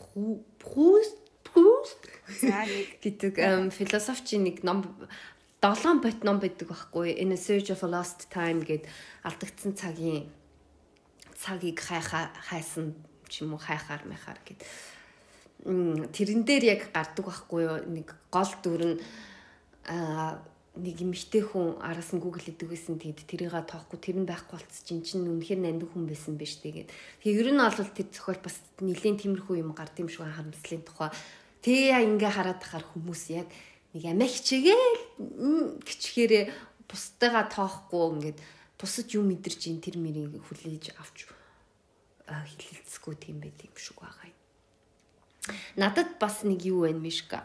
гэдэг философчийн нэг ном 7 бот ном байдаг байхгүй. In a Search of a Lost Time гэд алдагдсан цагийг хайсан ч юм уу хайхаар мэхаар гэд. Тэрэн дээр яг гардаг байхгүй юу? Нэг гол дүр нь нэг эмэгтэй хүн араас нь Google хийдэг байсан. Тэгээд тэрийг тоохгүй тэр нь байхгүй болцсон чинь үнэхээр нандин хүн байсан биз тэгээд. Тэгээ ер нь бол тэр зохиол бас нэлийн тиймэрхүү юм гард юм шиг харамслын тухай. Тэгээ ингээ хараад тахаар хүмүүс яг нэг амиа хичээгээл гिचхээрээ бусдаагаа тоохгүй ингээд бусад юм мэдэрч ин тэр мэрийг хүлээж авч хилэлцэхгүй тийм байт юм шиг байгаа юм. Надад бас нэг юу байна Мишка.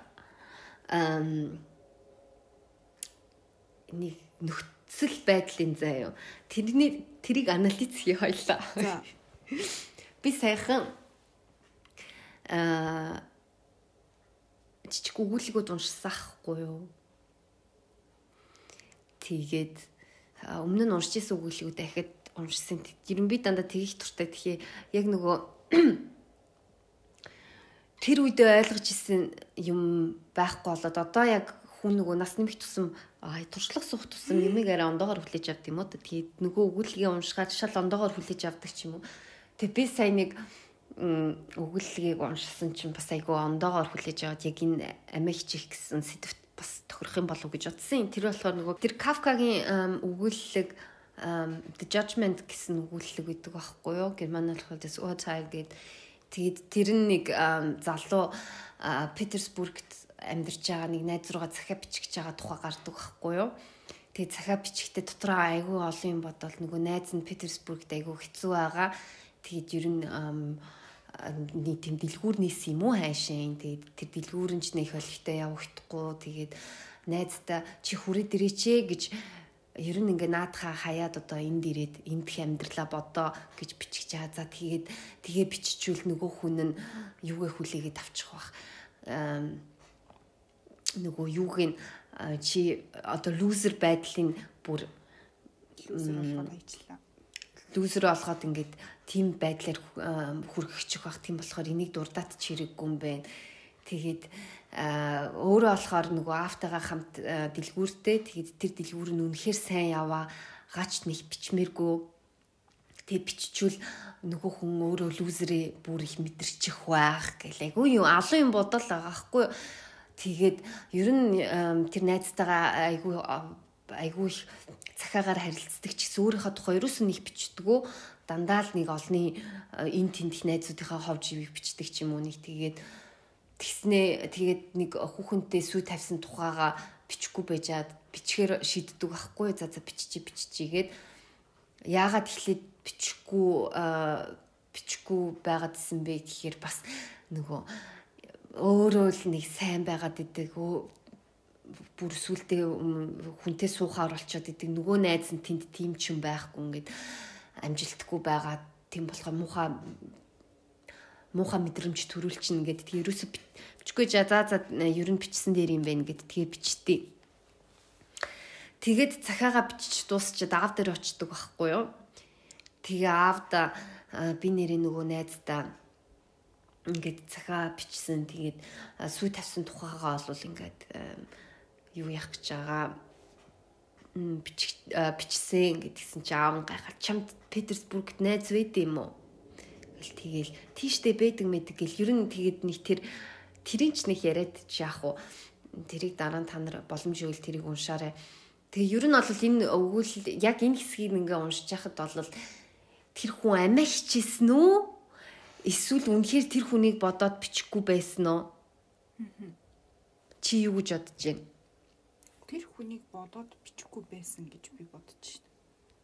Нэг нөхцөл байдлын заяа. Тэрийг анализ хий хоёлаа. Би сайхан жижиг өгүүлбэрүүд уншсан ахгүй юу. Тэгээд өмнө нь уншиж исэн өгүүлбэрүүд дахиад уншсан. Ер нь би дандаа тэгэх туртай тэгэхээр яг нөгөө тэр үедээ ойлгож исэн юм байхгүй болоод одоо яг хүн нөгөө нас нэмэх тусам туршлага суух тусам нэмийг арай ондоогоор хүлээж авдаг юм уу. Тэгээд нөгөө өгүүлбэрийг уншгаад шал ондоогоор хүлээж авдаг ч юм уу. Тэгээд би сая нэг өгүүлбэрийг уншсан чинь бас айгүй ондоогоор хүлээж аваад яг энэ амиа хичих гэсэн сэдвт бас тохирох юм болов уу гэж бодсон. Тэр болохоор нөгөө тэр Кафкагийн өгүүлбэр The Judgment гэсэн өгүүлбэр гэдэг байхгүй юу? Германаар хэлбэл das Urteil гэдэг. Тэгээд тэр нэг залуу Питерсбургт амьдарч байгаа нэг найз руугаа захиа бичиж байгаа тухай гардаг байхгүй юу? Тэгээд захиа бичихдээ дотроо айгүй олон юм бодвол нөгөө найз нь Питерсбургт айгүй хэцүү байгаа. Тэгээд ер нь нэг тийм дэлгүүр нийс юм уу хайшин. Тэгээд тэр дэлгүүр нь ч нэг холигтой явагдахгүй. Тэгээд найздаа чи хүрээд ирээч гэж ер нь ингээ наадхаа хаяад одоо энд ирээд эндх амьдралаа бодоо гэж бичих чаа. За тэгээ биччихвэл нөгөө хүн нь юугээ хүлээгээд авчих бах. Нөгөө юуг нь чи одоо лузер байдлын бүр лузер болгоод ажиллаа. Лузер болгоод ингээд тийм байдлаар хүргэчих бах. Тийм болохоор энийг дурдаад ч хэрэггүй юм байна. Тэгээд өөрөө болохоор нөгөө автагаа хамт дэлгүүртэй. Тэгээд тэр дэлгүүр нь үнэхээр сайн яваа. Гач нэг бичмээргүй. Тэгээд биччихвэл нөгөө хүн өөрөө лузерээ бүр их мэдэрчих байх гэлээ. Үгүй юу алуу юм бодол байгаа хгүй. Тэгээд ер нь тэр найзтайгаа айгүй их цахаагаар харилцдаг ч гэсэн өөрийнхөө тухай ерөөсөө нэг бичдэггүй. Дандаа л нэг олны эн тентх найзуудынхаа хов живийг бичдэг ч юм уу нэг тэгээд нэг хүүхэнтэй сүй тавьсан тухайга бичихгүй байжаад бичгээр шийддэг байхгүй. За биччихийгээд яагаад тэгэхээр бичихгүй байгаад исэн бэ гэхээр бас нөгөө өөрөө л нэг сайн байгаад идэг бүр сүултээ хүнтэй суухаар болчиход идэг нөгөө найз нь тэнд тийм ч юм байхгүй ингээд амжилтгүй байгаа. Тийм болохоор муухай мэдрэмж төрүүлчихнэ гэдэг. Тэгээ ерөөсө бичихгүй за ер нь бичсэн дээр юм байна гэдэг. Тэгээ бичтээ. Тэгээд цахаага бичиж дуусчаад аав дээр очдөг байхгүй юу. Тэгээ аавда би нэрээ нөгөө найздаа ингээд цахаа бичсэн. Тэгээд сүй тавьсан тухайгаа олвол ингээд юу яах гэж байгаа бичсэн гэдгсэн чи аав нь гайхаад чамд Питерсбургт найз байд юм уу? Тэгэл тийштэй байдаг мэдэг гэл ер нь тэгээд нэг тэрийн ч нэг яриад яах вэ? Тэрийг дараа нь та нар боломж өгөл тэрийг уншаарай. Тэгээ ер нь бол энэ өгүүл яг энэ хэсгийг ингээ уншиж яхад бол тэр хүн амиа хичээсэн үү? Эсвэл үнэхээр тэр хүнийг бодоод бичихгүй байсан уу? Чи юу гэж бодож байна? Тэр хүнийг бодоод бичихгүй байсан гэж би бодож байна.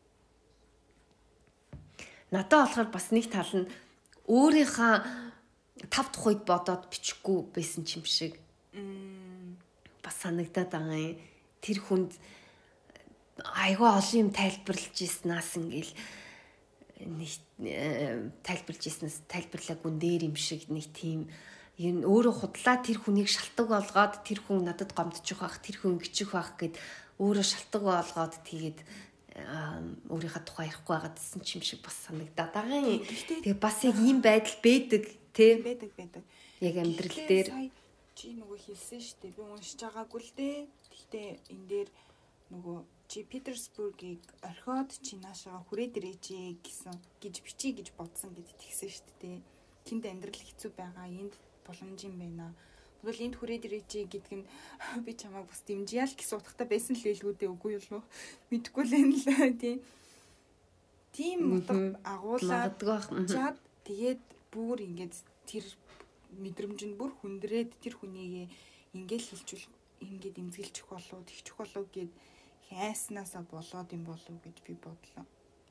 Надад болохоор бас нэг тал нь өөрийнхөө тав тухайд бодоод бичихгүй байсан юм шиг. бас санагдаад байгаа юм. Тэр хүнд айгүй олон юм тайлбарлаж ирснаас ингээл нэг тайлбарлаж ирснаас тайлбарлаагүй нэр юм шиг нэг тийм юм өөрөө худлаа тэр хүнийг шалтгаан болгоод тэр хүн надад гомдчих байх, тэр хүн гिचих байх гэд өөрөө шалтгаан болгоод тэгээд өөрийнхөө тухай ярихгүй байгаадсэн ч юм шиг бас санагдаад байгаа юм. Тэгээ бас яг ийм байдал байдаг тий. Байдаг. Яг амьдрал дээр чи нөгөө хэлсэн шүү дээ. Би уншиж байгаагүй л дээ. Гэхдээ энэ дээр нөгөө чи Питерсбургийг орхиод чи наашаага хүрээд ирээч гэж бичиж гэж бодсон гэд тэгсэн шүү дээ. Тэнд амьдрал хэцүү байгаа. Энд боломж юм байна. Тэгвэл энд хүрээд ирээч гэдг нь би чамайг бас дэмжия л гэсэн утгатай байсан л хэлгүү дээ үгүй юу? Мэдгүй л энэ л тийм утга агуулад чад тэгээд бүр ингээд тэр мэдрэмж нь бүр хүндрээд тэр хүнийг ингээд хэлчихвэл ингээд эмзэглчих болов тэгчих болов гэд хайснаасаа болоод юм болов гэж би бодлоо.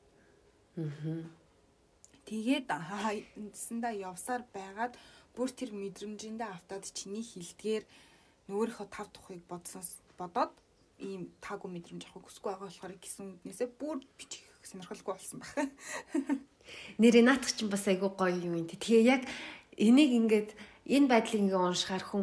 Тэгээд эндсэндээ явсаар байгаад бүр тэр мэдрэмжиндээ автаад чиний хилдгээр нөгөөрийнхөө тав тухыг бодоод ийм таагүй мэдрэмж авах хүсгүй байгаа болохоор гэсэн үднээсээ бүр бичих сонирхолгүй болсон байна. Нэрээ наадах чинь бас айгүй гоё юм юм. Тэгээ яг энийг ингээд энэ байдлыг ингээ уншихаар хүн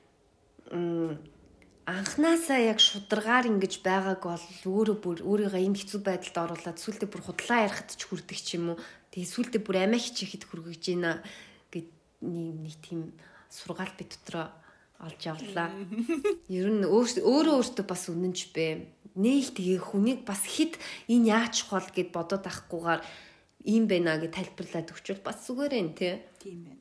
анханасаа яг шударгаар ингэж байгааг бол өөрөө бүр өөрийгөө энэ хэцүү байдалд оруулаад сүултээ бүр худлаа ярихад ч хүрдэг ч юм уу. Тэгээ сүултээ бүр амиа хичээхэд хүргэж ийна гэд нэг тийм сургаал би дотроо олж авлаа. Ер нь өөртөө бас үнэнч бэ. Нэг тэгээ хүнийг бас хит энэ яачих бол гэд бодоод авахгүйгээр ийм байна гэж тайлбарлаад өгчвөл бас зүгээр юм тий. Тийм байна.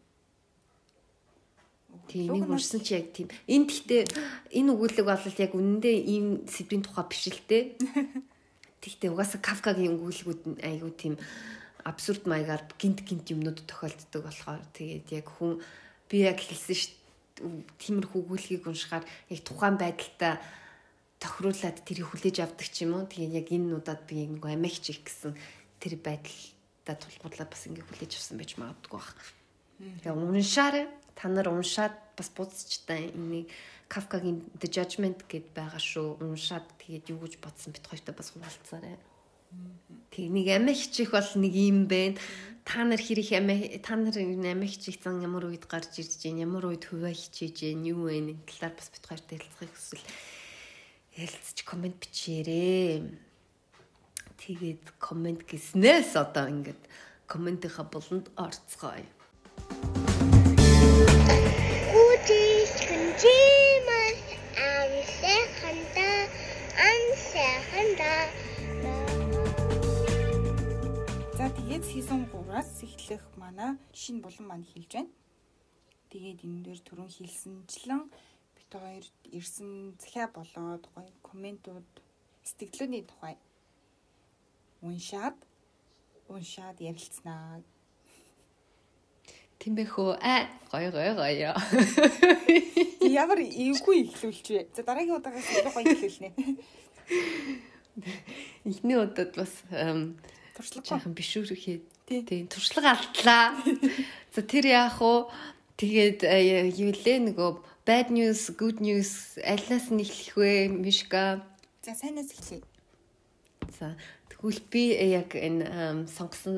Тийм нэг уншсан чи яг тийм. Энд гэхдээ энэ өгүүлэг бол яг үнэндээ ийм сэдвийн тухай биш л дээ. Тэгтээ угаасаа Кафкагийн өгүүлгүүд нь айгүй тийм абсурд маягаар гинт юмнууд тохиолддог болохоор тэгээд яг хүн би яг хэлсэн шүү тиймэрхүү өгүүлгийг уншихаар яг тухайн байдалтай тохируулаад тэрийг хүлээж авдаг ч юм уу. Тэгээд яг энэ нуудад би нэг амиа хичээх гэсэн тэр байдалтай тулгуурлаад бас ингэ хүлээж авсан байж магадгүй баг. Тэгээд уншаарай. Та нар уншаад бас буцчтай энийг Кафкагийн The Judgment гэд байгаа шүү. Уншаад тэгээд юу гэж бодсон бит хоёртой бас хуваалцаарай. Тэг нэг амиа хичээх бол нэг юм байна. Та нар хэрэг амиа хичээх зан ямар үед гарч ирж гин, ямар үед хуваа хичээж гин, юу вэ? Энэ талаар бас бит хоёртой хэлцэхийг хүсвэл хэлцэж комент бичээрэй. Тэгээд комент гэснээс одоо ингээд комментийнхаа болонд орцгоё. За тэгээд season 3-аас эхлэх манай шинэ булан маань хэлж байна. Тэгээд энэ дээр түрүүн хэлсэнчлэн бит хоёр ирсэн захиа болоод гоё комментууд сэтгэлдээ тухай уншаад ярилцсанаа. Тэмбэхөө гоё. Ямар эвгүй ихлүүлч вэ? За дараагийн удаагаас гоё ихлүүлнэ. Эхний удаад бас туршлага биш үрхээ. Тийм туршлага алдлаа. За тэр яах вэ? Тэгээд юу лээ нөгөө bad news, good news алнаас нь эхлэх вэ? Мишка. За сайнаас эхлэе. За тэгвэл би яг энэ сонгосон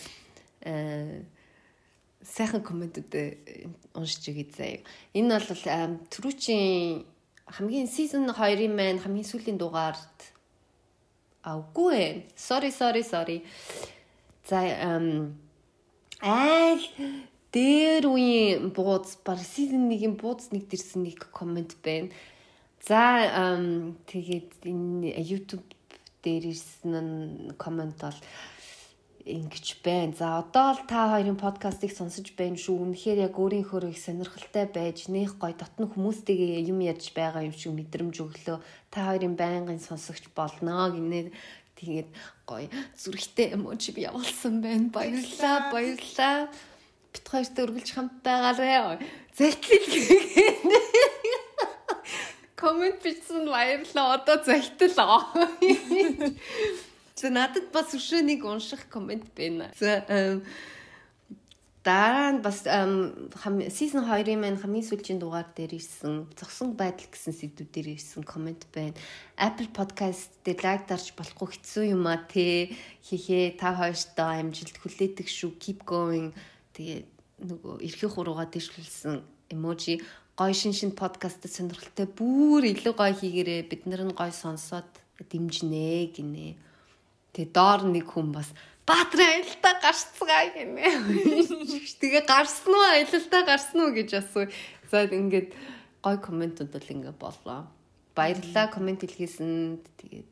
сайхан комментүүд уншиж өгье заяа. Энэ бол түрүүчийн хамгийн season 2-ын маань хамгийн сүүлийн дугаард Үгүй ээ. Sorry. За дээр үеийн бууз бар season 1-ийн бууз нэг дэрсэн нэг коммент байна. За тэгээд энэ YouTube дээр ирсэн коммент бол ингэж байна. За одоо л та хоёрын подкастыг сонсож байна шүү. Үнэхээр яг өөрийнхөө их сонирхолтой байж, нэх гоё дотны хүмүүстэйгээ юм ярьж байгаа юм шиг мэдрэмж өглөө. Та хоёрын байнгын сонсогч болно гинэ. Тэгээд гоё зүрхтэй эможи би явуулсан байна. Баярлалаа. Бит хоёртой үргэлж хамт байгаарай. Зэлтэлгээ. Коммент бичсэн баярлалаа. Одоо зэлтэл. За надад бас өшөөнийг унших коммент байна. За дараа нь бас season 2-ын маань хамгийн сүүлийн дугаар дээр ирсэн зогсон байдал гэсэн сэдвүүдээр ирсэн комент байна. Apple Podcast дээр лайк дарж болохгүй хэцүү юм а те. Хихээ та хоёртоо амжилт хүлээдэг шүү. Keep going. Тэгээ нөгөө эрхийн хуруугаа дэвшлүүлсэн эможи гой шин подкастт сонирхолтой бүр илүү гой хийгээрээ бид нар нь гой сонсоод дэмжинэ гинэ. Тэгээ доор нэг хүн бас Баатрын аялалтаа гарцгаа гинэ. Тэгээ гарсан уу аялалтаа гарсан уу гэж асуу. За ингээд гой комментууд бол ингээд боллоо. Баярлалаа коммент хэлгээсэнд. Тэгээд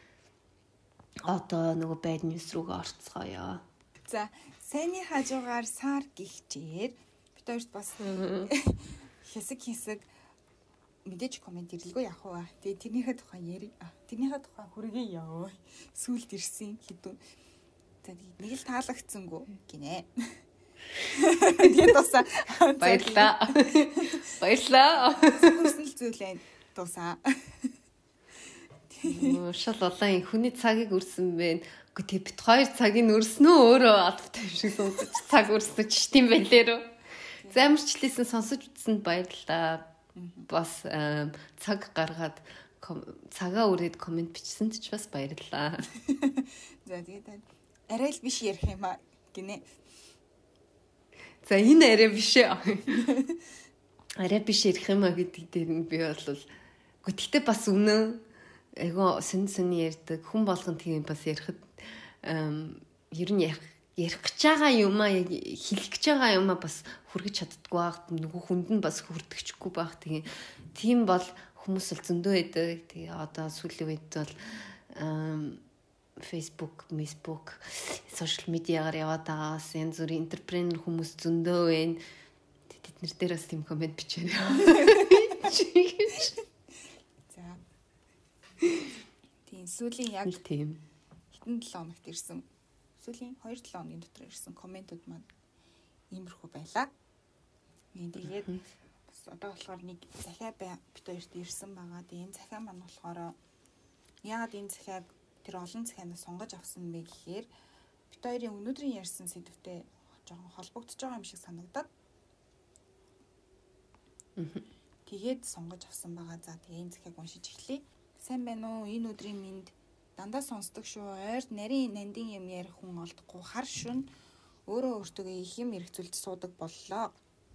одоо нөгөө байд ньюс руугаа орцгоё. За сайнны хажуугаар сар гихчээр бид хоёрт бас хэсэг мэдээж коммент ирлгүй яах вэ? Тэгээ тэрнийхээ тухай ярив. Тэрнийхээ тухай хүргэе ёо. Сүлд ирсэн хэдэн. За нэг л таалагдсангүй гинэ. Тэгээд тусаа баярлаа. Баярлаа. Хүснэл зүйлээ тусаа. Шал улаан хүний цагийг өрсөн бэ. Үгүй тэг бит хоёр цагийг өрснөө өөрөө албатай шиг сонсож цаг өрснөж тийм байлээ рүү. Замарчлээсэн сонсож үзсэнд баярлалаа. Бас цаг гаргаад цагаа өрөөд коммент бичсэнд ч бас баярлалаа. За тэгээд арай л биш ярих юм а гинэ. За энэ арай биш ээ. Арай биш ярих юм а гэдэг дээр нь би бол гэхдээ бас үнэн айгу сэн ярьдаг хүн болгон тийм бас ярихад ер нь ярих гэж байгаа юм а хэлэх гэж байгаа юм а бас хүргэж чаддгүй байх нөгөө хүнд нь бас хүрдэгчгүй байх тийм бол хүмүүс л зөндөө байдаг. Тэгээ одоо сүүлийн үед бол Facebook, social media-гаар яваад байгаас янз бүрийн энтерпренер хүмүүс зөндөө байна. Тэд нар дээр бас тийм коммент бичээрэй. За. Тийм сүүлийн яг тийм хитэн 7 хоногт ирсэн. Сүүлийн 2-7 хоногийн дотор ирсэн комментууд маань иймэрхүү байлаа. Тэгээд бас одоо болохоор нэг захиа бит хоёрт ирсэн байгаа. Тэгээд энэ захиа маань болохоор яагаад энэ захиаг тэр олон захианаас сонгож авсан бэ гэхээр бит хоёрын өнөөдрийн ярьсан сэдвтэй жоохон холбогдож байгаа юм шиг санагдаад. Тэгээд сонгож авсан байгаа. За тэгээ энэ захиаг уншиж эхлэе. Сайн байна уу? Энэ өдрийн минь дандаа сонсдог шүү. Ойрд нарийн нандин юм ярих хүн олдохгүй хар шүн өөрөө өөртөө их юм эргцүүлж суудаг боллоо.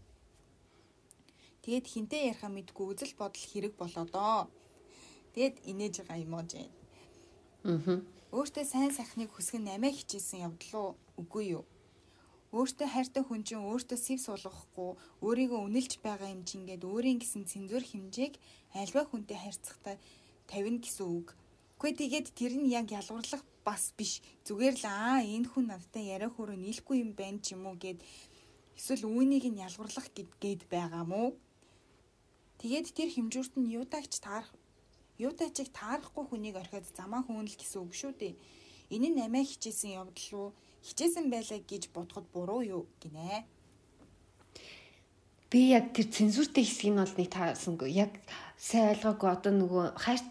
Тэгээд хинтээ ярихаа мэдгүй үзэл бодол хэрэг болоодоо. Тэгээд инээж байгаа эможи. Өөртөө сайн сайхныг хүсгэн намаа хичээсэн явдал үгүй юу? Өөртөө хайртай хүн чинь өөртөө сэв суулгахгүй, өөрийгөө үнэлж байгаа юм чингээд өөрийн гэсэн цензур хэмжээг альва хүнтэй харьцахтаа тавина гэсэн үг. Үгүй тэгээд тэр нь яг ялгуурлах бас биш. Зүгээр л энэ хүн надтай яриа хөрөө нийлэхгүй юм байна ч юм уу гэд эсвэл үүнийг нь ялгуурлах гээд байгаа мó. Тэгээд тэр хэмжүүрт нь юутайчиг таарахгүй хүнийг орхиод замаа хөөнөл гэсэн үг шүү дээ. Энэ нь намаа хичээсэн явдал руу хичээсэн байлаа гэж бодоход буруу юу гинэ. Би яг тэр цензуртэй хэсгийг нь бол нэг таарсангүй. Яг сайн ойлгоогүй одоо нөгөө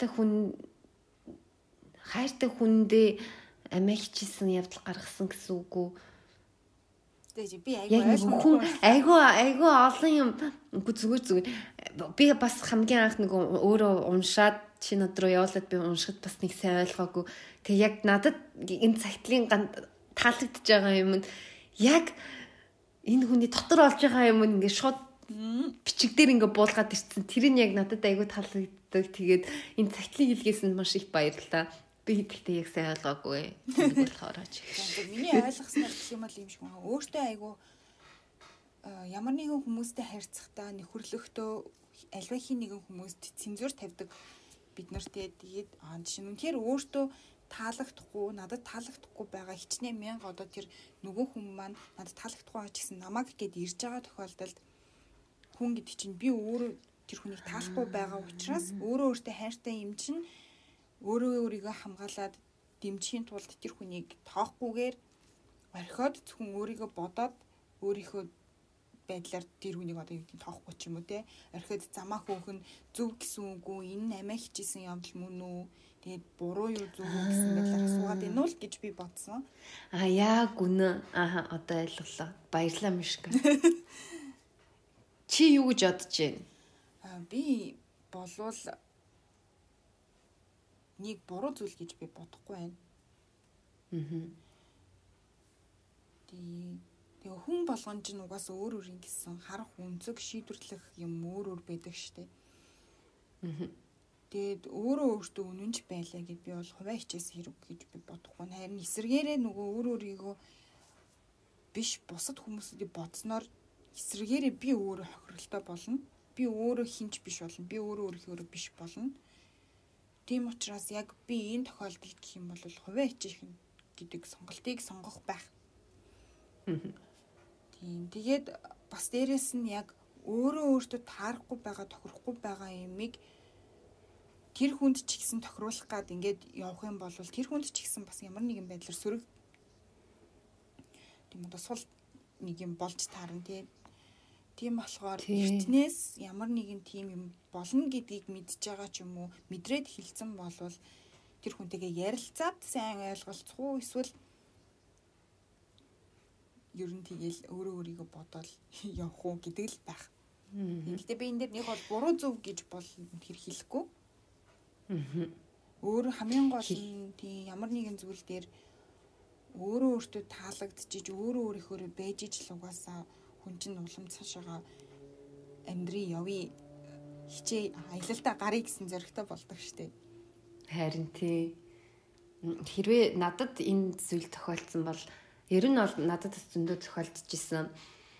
хайртай хүндээ амиа хичээсэн явдал гаргасан гэсэн үг үү? Тэгээд би айгүй олон юм үгүй зүгээр би бас хамгийн анх нөгөө өөрөө уншаад чи над руу явуулаад би уншихад бас нэг сайн ойлгоогүй. Тэг яг надад энэ цагтлын таалагдж байгаа юм нь яг энэ хүний дотор олж байгаа юм ингээд шууд бичиг дээр ингээд буулгаад ирсэн. Тэр нь яг надад айгүй таалагддаг. Тэгээд энэ цагтлын хэлгээс нь маш их баярлалаа. Би гэхдээ яг сайн ойлгоогүй. Нэг болохоор ч. Миний ойлгосноор гэх юм бол юм шиг байна. Өөртөө айгүй ямар нэгэн хүмүүстэй харьцахдаа нөхөрлөختөө альва хин нэгэн хүмүүст цензур тавьдаг бид нартэй. Тэгээд жишээ нь үнэхээр өөртөө таалагдахгүй, надад таалагдахгүй байгаа хичнээн мянга одоо тэр нөгөө хүн маань надад таалагдахгүй байгаа ч гэсэн намайг гээд ирж байгаа тохиолдолд хүн гэдэг чинь би өөрөө тэр хүнийг таалахгүй байгаа учраас өөрөө өөртөө хайртай юм чинь өөрийгөө хамгаалаад дэмжихийн тулд тэр хүнийг тоохгүйгээр орхиод зөвхөн өөрийгөө бодоод өөрийнхөө байдлаар тэр хүнийг одоо юу гэдэг тоохгүй ч юм уу те орхиод замаа хөөхн зөв гэсэн үгүй энэ намаа хичээсэн явдал мөн үү Тэгээд буруу юу зөв үү гэсэн байдлаар асуугаад байна уу л гэж би бодсон. Яг үнэ. Одоо ойлголоо. Баярлалаа Мишка. Чи юу гэж бодож байна? Би болвол нэг буруу зүйл гэж би бодохгүй байна. Тэгээ хүн болгон ч угаасаа өөр өөр ингэсэн харах үнцэг шийдвэрлэх юм өөр өөр байдаг штэ. Тэгээд өөртөө үнэнч байлаа гэд би бол хуваа хичээс хэрэг гэж би бодохгүй. Харин эсэргээрээ нөгөө өөрийгөө биш бусад хүмүүсүүдийг бодсноор эсэргээрээ би өөрөө хохиролтой болно. Би өөрөө хинч биш болно. Би өөрөө биш болно. Тийм учраас яг би энэ тохиолдолд гэх юм бол хуваа хичээх гэдэг сонголтыг сонгох байх. Тийм. Тэгээд бас дээрэс нь яг өөртөө таарахгүй байгаа, тохирохгүй байгаа юмыг тэр хүнд ч ихсэн тохируулах гад ингээд явах юм бол тэр хүнд ч ихсэн бас ямар нэгэн байдлаар сөрөг тийм одоо сул нэг юм болж таарна тийм болохоор эртнээс ямар нэгэн тийм юм болно гэдгийг мэдж байгаа ч юм уу мэдрээд хэлсэн болвол тэр хүнтэйгээ ярилцаад сайн ойлголцох уу эсвэл ер нь тэгэл өөрийгөө бодоод явах уу гэдэг л байх. Гэхдээ би энэ дээр нэг бол буруу зөв гэж бол тэр хэлэхгүй. Өөр хамгийн гол нь тийм ямар нэгэн зүйл дээр өөртөө таалагдчих өөрийнхөө байж ижил угаасаа хүн чинь улам цаашаага амьдрий явъя хичээ аялалтаа гарыг гэсэн зоригтой болдог штеп. Харин тий. Хэрвээ надад энэ зүйл тохиолдсон бол ер нь бол надад зөндөө тохиолдож исэн.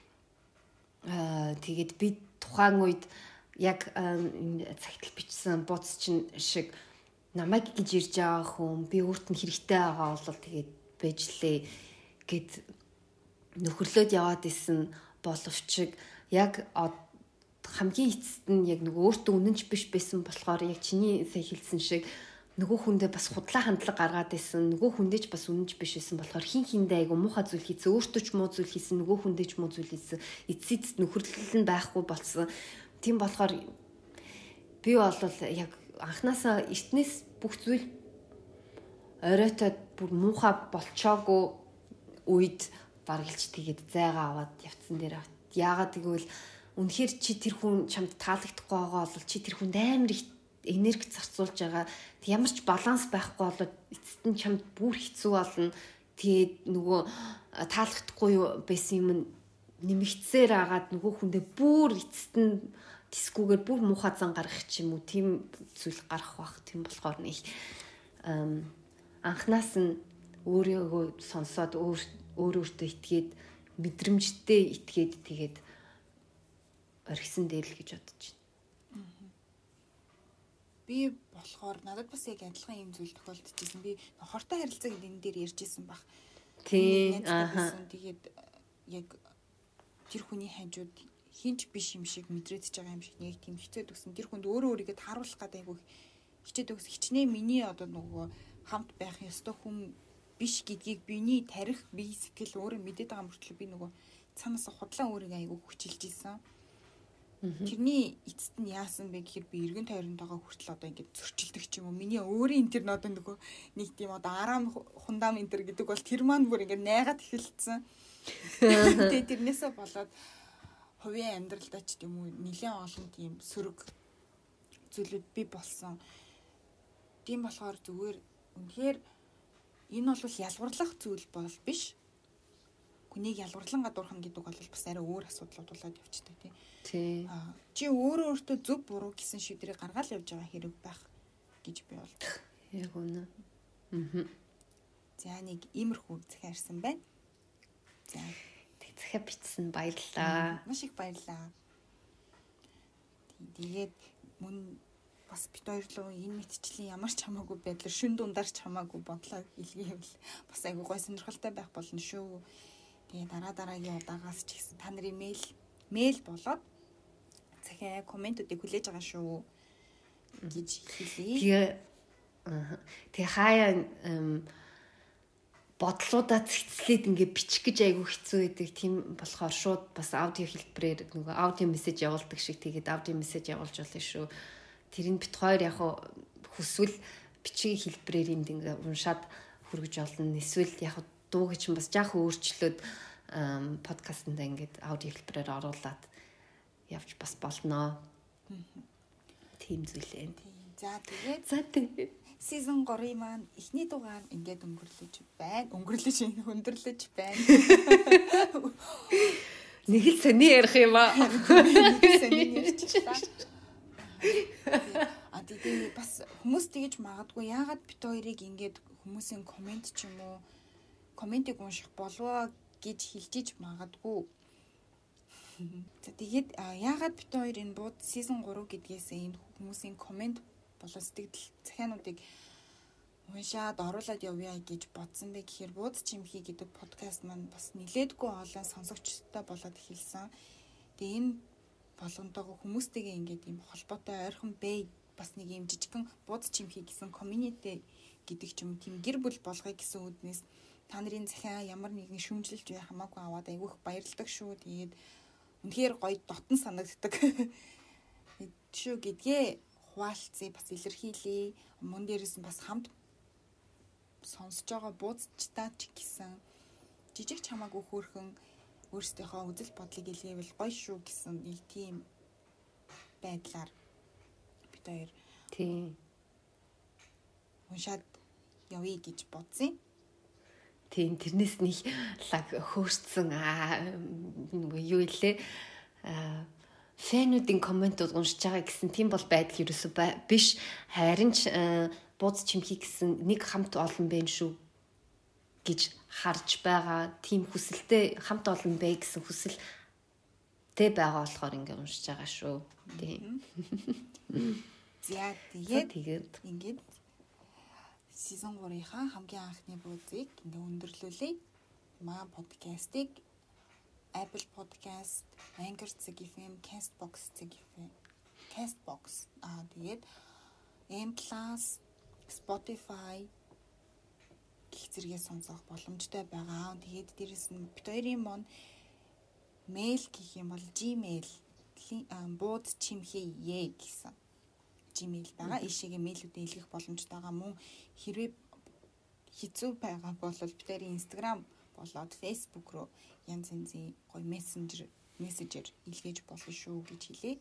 Тэгээд би тухайн үед яг цагтл бичсэн бууц чинь шиг намайг гэж ирж байгаа хүн би өөрт нь хэрэгтэй байгаа бол тэгээд байжлээ гэд нөхөрлөөд яваад исэн боловч яг хамгийн эцэст нь яг нөгөө өөртөө үнэнч биш байсан болохоор яг чиний сая хэлсэн шиг нөгөө хүндээ бас худлаа хандлага гаргаад исэн нөгөө хүндээ ч бас үнэнч биш байсан болохоор хин хиндээ айгу муухай зүйл хийсэн өөртөө ч муу зүйл хийсэн нөгөө хүндээ ч муу зүйл хийсэн эцэст нөхөрлөл нь байхгүй болсон. Тийм болохоор би бол яг анханасаа эртнээс бүх зүйл оройтой бүр муухай болчоогүй үед баргалж тэгээд зайгаа аваад явцсан дээр яагаад гэвэл үнэхээр чи тэр хүн чамд таалагдахгүй байгаа бол чи тэр хүнд амар их энерги зарцуулж байгаа. Ямар ч баланс байхгүй бол эцэст нь чамд бүр хэцүү болно. Тэгээд нөгөө таалагдахгүй байсан юм нэмэгцээр агаад нөгөө хүндээ бүр эцэст нь дискүүгээр бүр муухай зан гаргах ч юм уу тийм зүйл гарах бах. Тийм болохоор нэг анханаас нь өөрийгөө сонсоод өөртөө итгээд мэдрэмжтэй итгээд тэгээд орхисон дээр л гэж бодож байна. Би болохоор надад бас яг адилхан юм зүйл тохиолдчихсэн. Би хортой харилцаа гэдэг энэ дээр ярьжсэн баг. Тийм. Тэгээд яг тэр хүний хажууд хинч биш юм шиг мэдрэгдэж байгаа юм шиг нэг тийм хэцээд өгсөн. Тэр хүнд өөрийгөө тааруулах гэдэг айгүй хичээд өгс. Хичнээн миний одоо нөгөө хамт байх ёстой хүн биш гэдгийг биний тарих бие сэтгэл өөрөө мэдээд байгаа мөртлөө би нөгөө цаанаас худлаа өөрийгөө айгүй хүчилж исэн. Тэрний эцэст нь яасан бэ гэхээр би эргэн тойрондоо хүртэл одоо ингээд зөрчилдөг ч юм уу. Миний өөрийн энэ тэр одоо нөгөө нэг тийм одоо араам хундам энэ төр гэдэг бол тэр маань бүр ингээд найгаад эхэлсэн. Тэгээ тэрнээсээ болоод хувийн амьдралдаа ч тийм үү нэлээд олон тийм сөрөг зүйлүүд би болсон. Тийм болохоор зүгээр үнэхээр энэ бол ялварлах зүйл бол биш. Хүнийг ялварлан гадуурхан гэдэг бол бас арай өөр асуудлууд болоод явчихдаг тийм. Чи өөртөө зөв буруу гэсэн шийдвэрийг гаргаад явж байгаа хэрэг байх гэж би бол. Яг үнэ. За нэг иймэрхүү захиа ирсэн байна. За захиа бичсэн баярлалаа. Маш их баярлалаа. Тэгээд мөн бас бит хоёрлоо энэ мэдчлэн ямар ч хамаагүй байдлаар шүн дундаар ч хамаагүй бодлоо илгээвэл бас айгүй гой сонирхолтой байх болно шүү. Тэгээ дараагийн удаагаас ч гэсэн та нарын мэйл болоод захиа комментуудыг хүлээж байгаа шүү гэж хэлье. Тэгээ хаяа бодлуудаа цэцлээд ингээ бичих гэж айгүй хэцүү байдаг. Тийм болохоор шууд бас аудио хэлбэрээр нөгөө аудио мессеж явуулдаг шиг тэгээд аудио мессеж явуулж болно шүү. Тэр нь бит хоёр яг хүсвэл бичгийн хэлбэрээр энд ингээ уншаад хүргэж олно. Эсвэл яг дуу гэж бас жаахан өөрчлөөд подкастнда ингээд аудио хэлбэрээр оруулаад явж бас болноо. Тийм зүйлээ. За тэгээд season 3 маань эхний дугаар ингээд өндөрлөж байна. Өндөрлөж байна. Нэг л сони ярих юм аа. Сони ярьчихлаа. Тэгээд бас хүмүүс тэгэж магадгүй яагаад бит хоёрыг ингээд хүмүүсийн комент ч юм уу комментиг унших болов гэж хэлжиж магадгүй. За тэгээд яагаад бит хоёр энэ бууд season 3 гэдгээс энэ хүмүүсийн коммент болон сэтгэл захиануудыг уншаад оруулаад явъя гэж бодсон бэ гэхээр бууд чимхий гэдэг подкаст маань бас нилээдгүй олон сонсогчтой болоод эхэлсэн. Тэгээ энэ болгонтойгоо хүмүүстэйгээ ингээд юм холбоотой ойрхон бай бас нэг юм жижигхэн бууд чимхий гэсэн community гэдэг ч юм тийм гэр бүл болгоё гэсэн үднээс та нарын захиа ямар нэгэн шүүмжлэлж бай хамаагүй аваад айгүйх баярлалдаг шүү. Тэгээд үнэхээр гоё дотн санагддаг шүү гэдгээ хуваалцъя бас илэрхийлье. Мөн дээрээс нь бас хамт сонсож байгаа буудчдаа ч гэсэн жижиг ч хамаагүй хөөрхөн өөрсдийнхөө үзэл бодлыг илгээвэл гоё шүү гэсэн нэг тийм байдлаар бид хоёр тийм уншаад явъя гэж бодсон. Тийм тэрнээс нэг лаг хөөрцсөн юу илээ фэнүүдийн комментууд уншиж байгаа гэсэн тийм бол байдал ерөөсөө биш. Харин ч бууз чимхий гэсэн нэг хамт олон байх шүү гэж харж байгаа. Тийм хүсэлтэй хамт олон бай гэсэн хүсэлтэй байгаа болохоор ингээ уншиж байгаа шүү. Тийм. За тэгээд ингээд season 3-ийнхаа хамгийн анхны буудыг ингээ өндөрлүүлье. Маа подкастыг Apple Podcast, Anchor FM, Castbox FM, тэгээд M+, Spotify гэх зэрэгээ сонсох боломжтой байгаа. Тэгээд дээрэс нь бид хоёрын мон mail гэх юм бол Gmail бууд чимхий гэсэн Gmail байгаа. Ишигээ мэйлүүдээ илгэх боломжтой байгаа. Мөн хэрвээ хэцүү байгаа бол бид хоёрын Instagram болоод Facebook руу янз янзын гоё мессенжер илгээж болно шүү гэж хэлээ.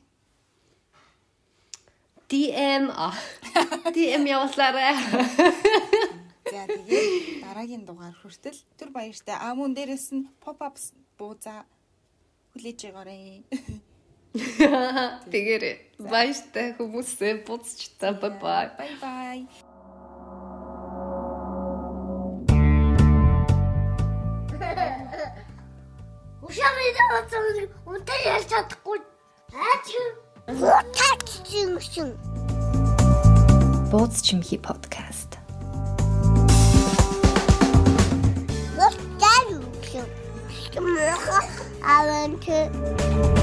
DM явуулаарай. За тэгээд дараагийн дугаар хүртэл түр баяртай. Мөн дээрээс нь pop-up буузаа хүлээж байгаарай. Тэгээрэй. Баяртай хүмүүсээ буцчта. Bye bye. Унтаа ялж чадахгүй. Утаач. Бууз чимхий подкаст. Авант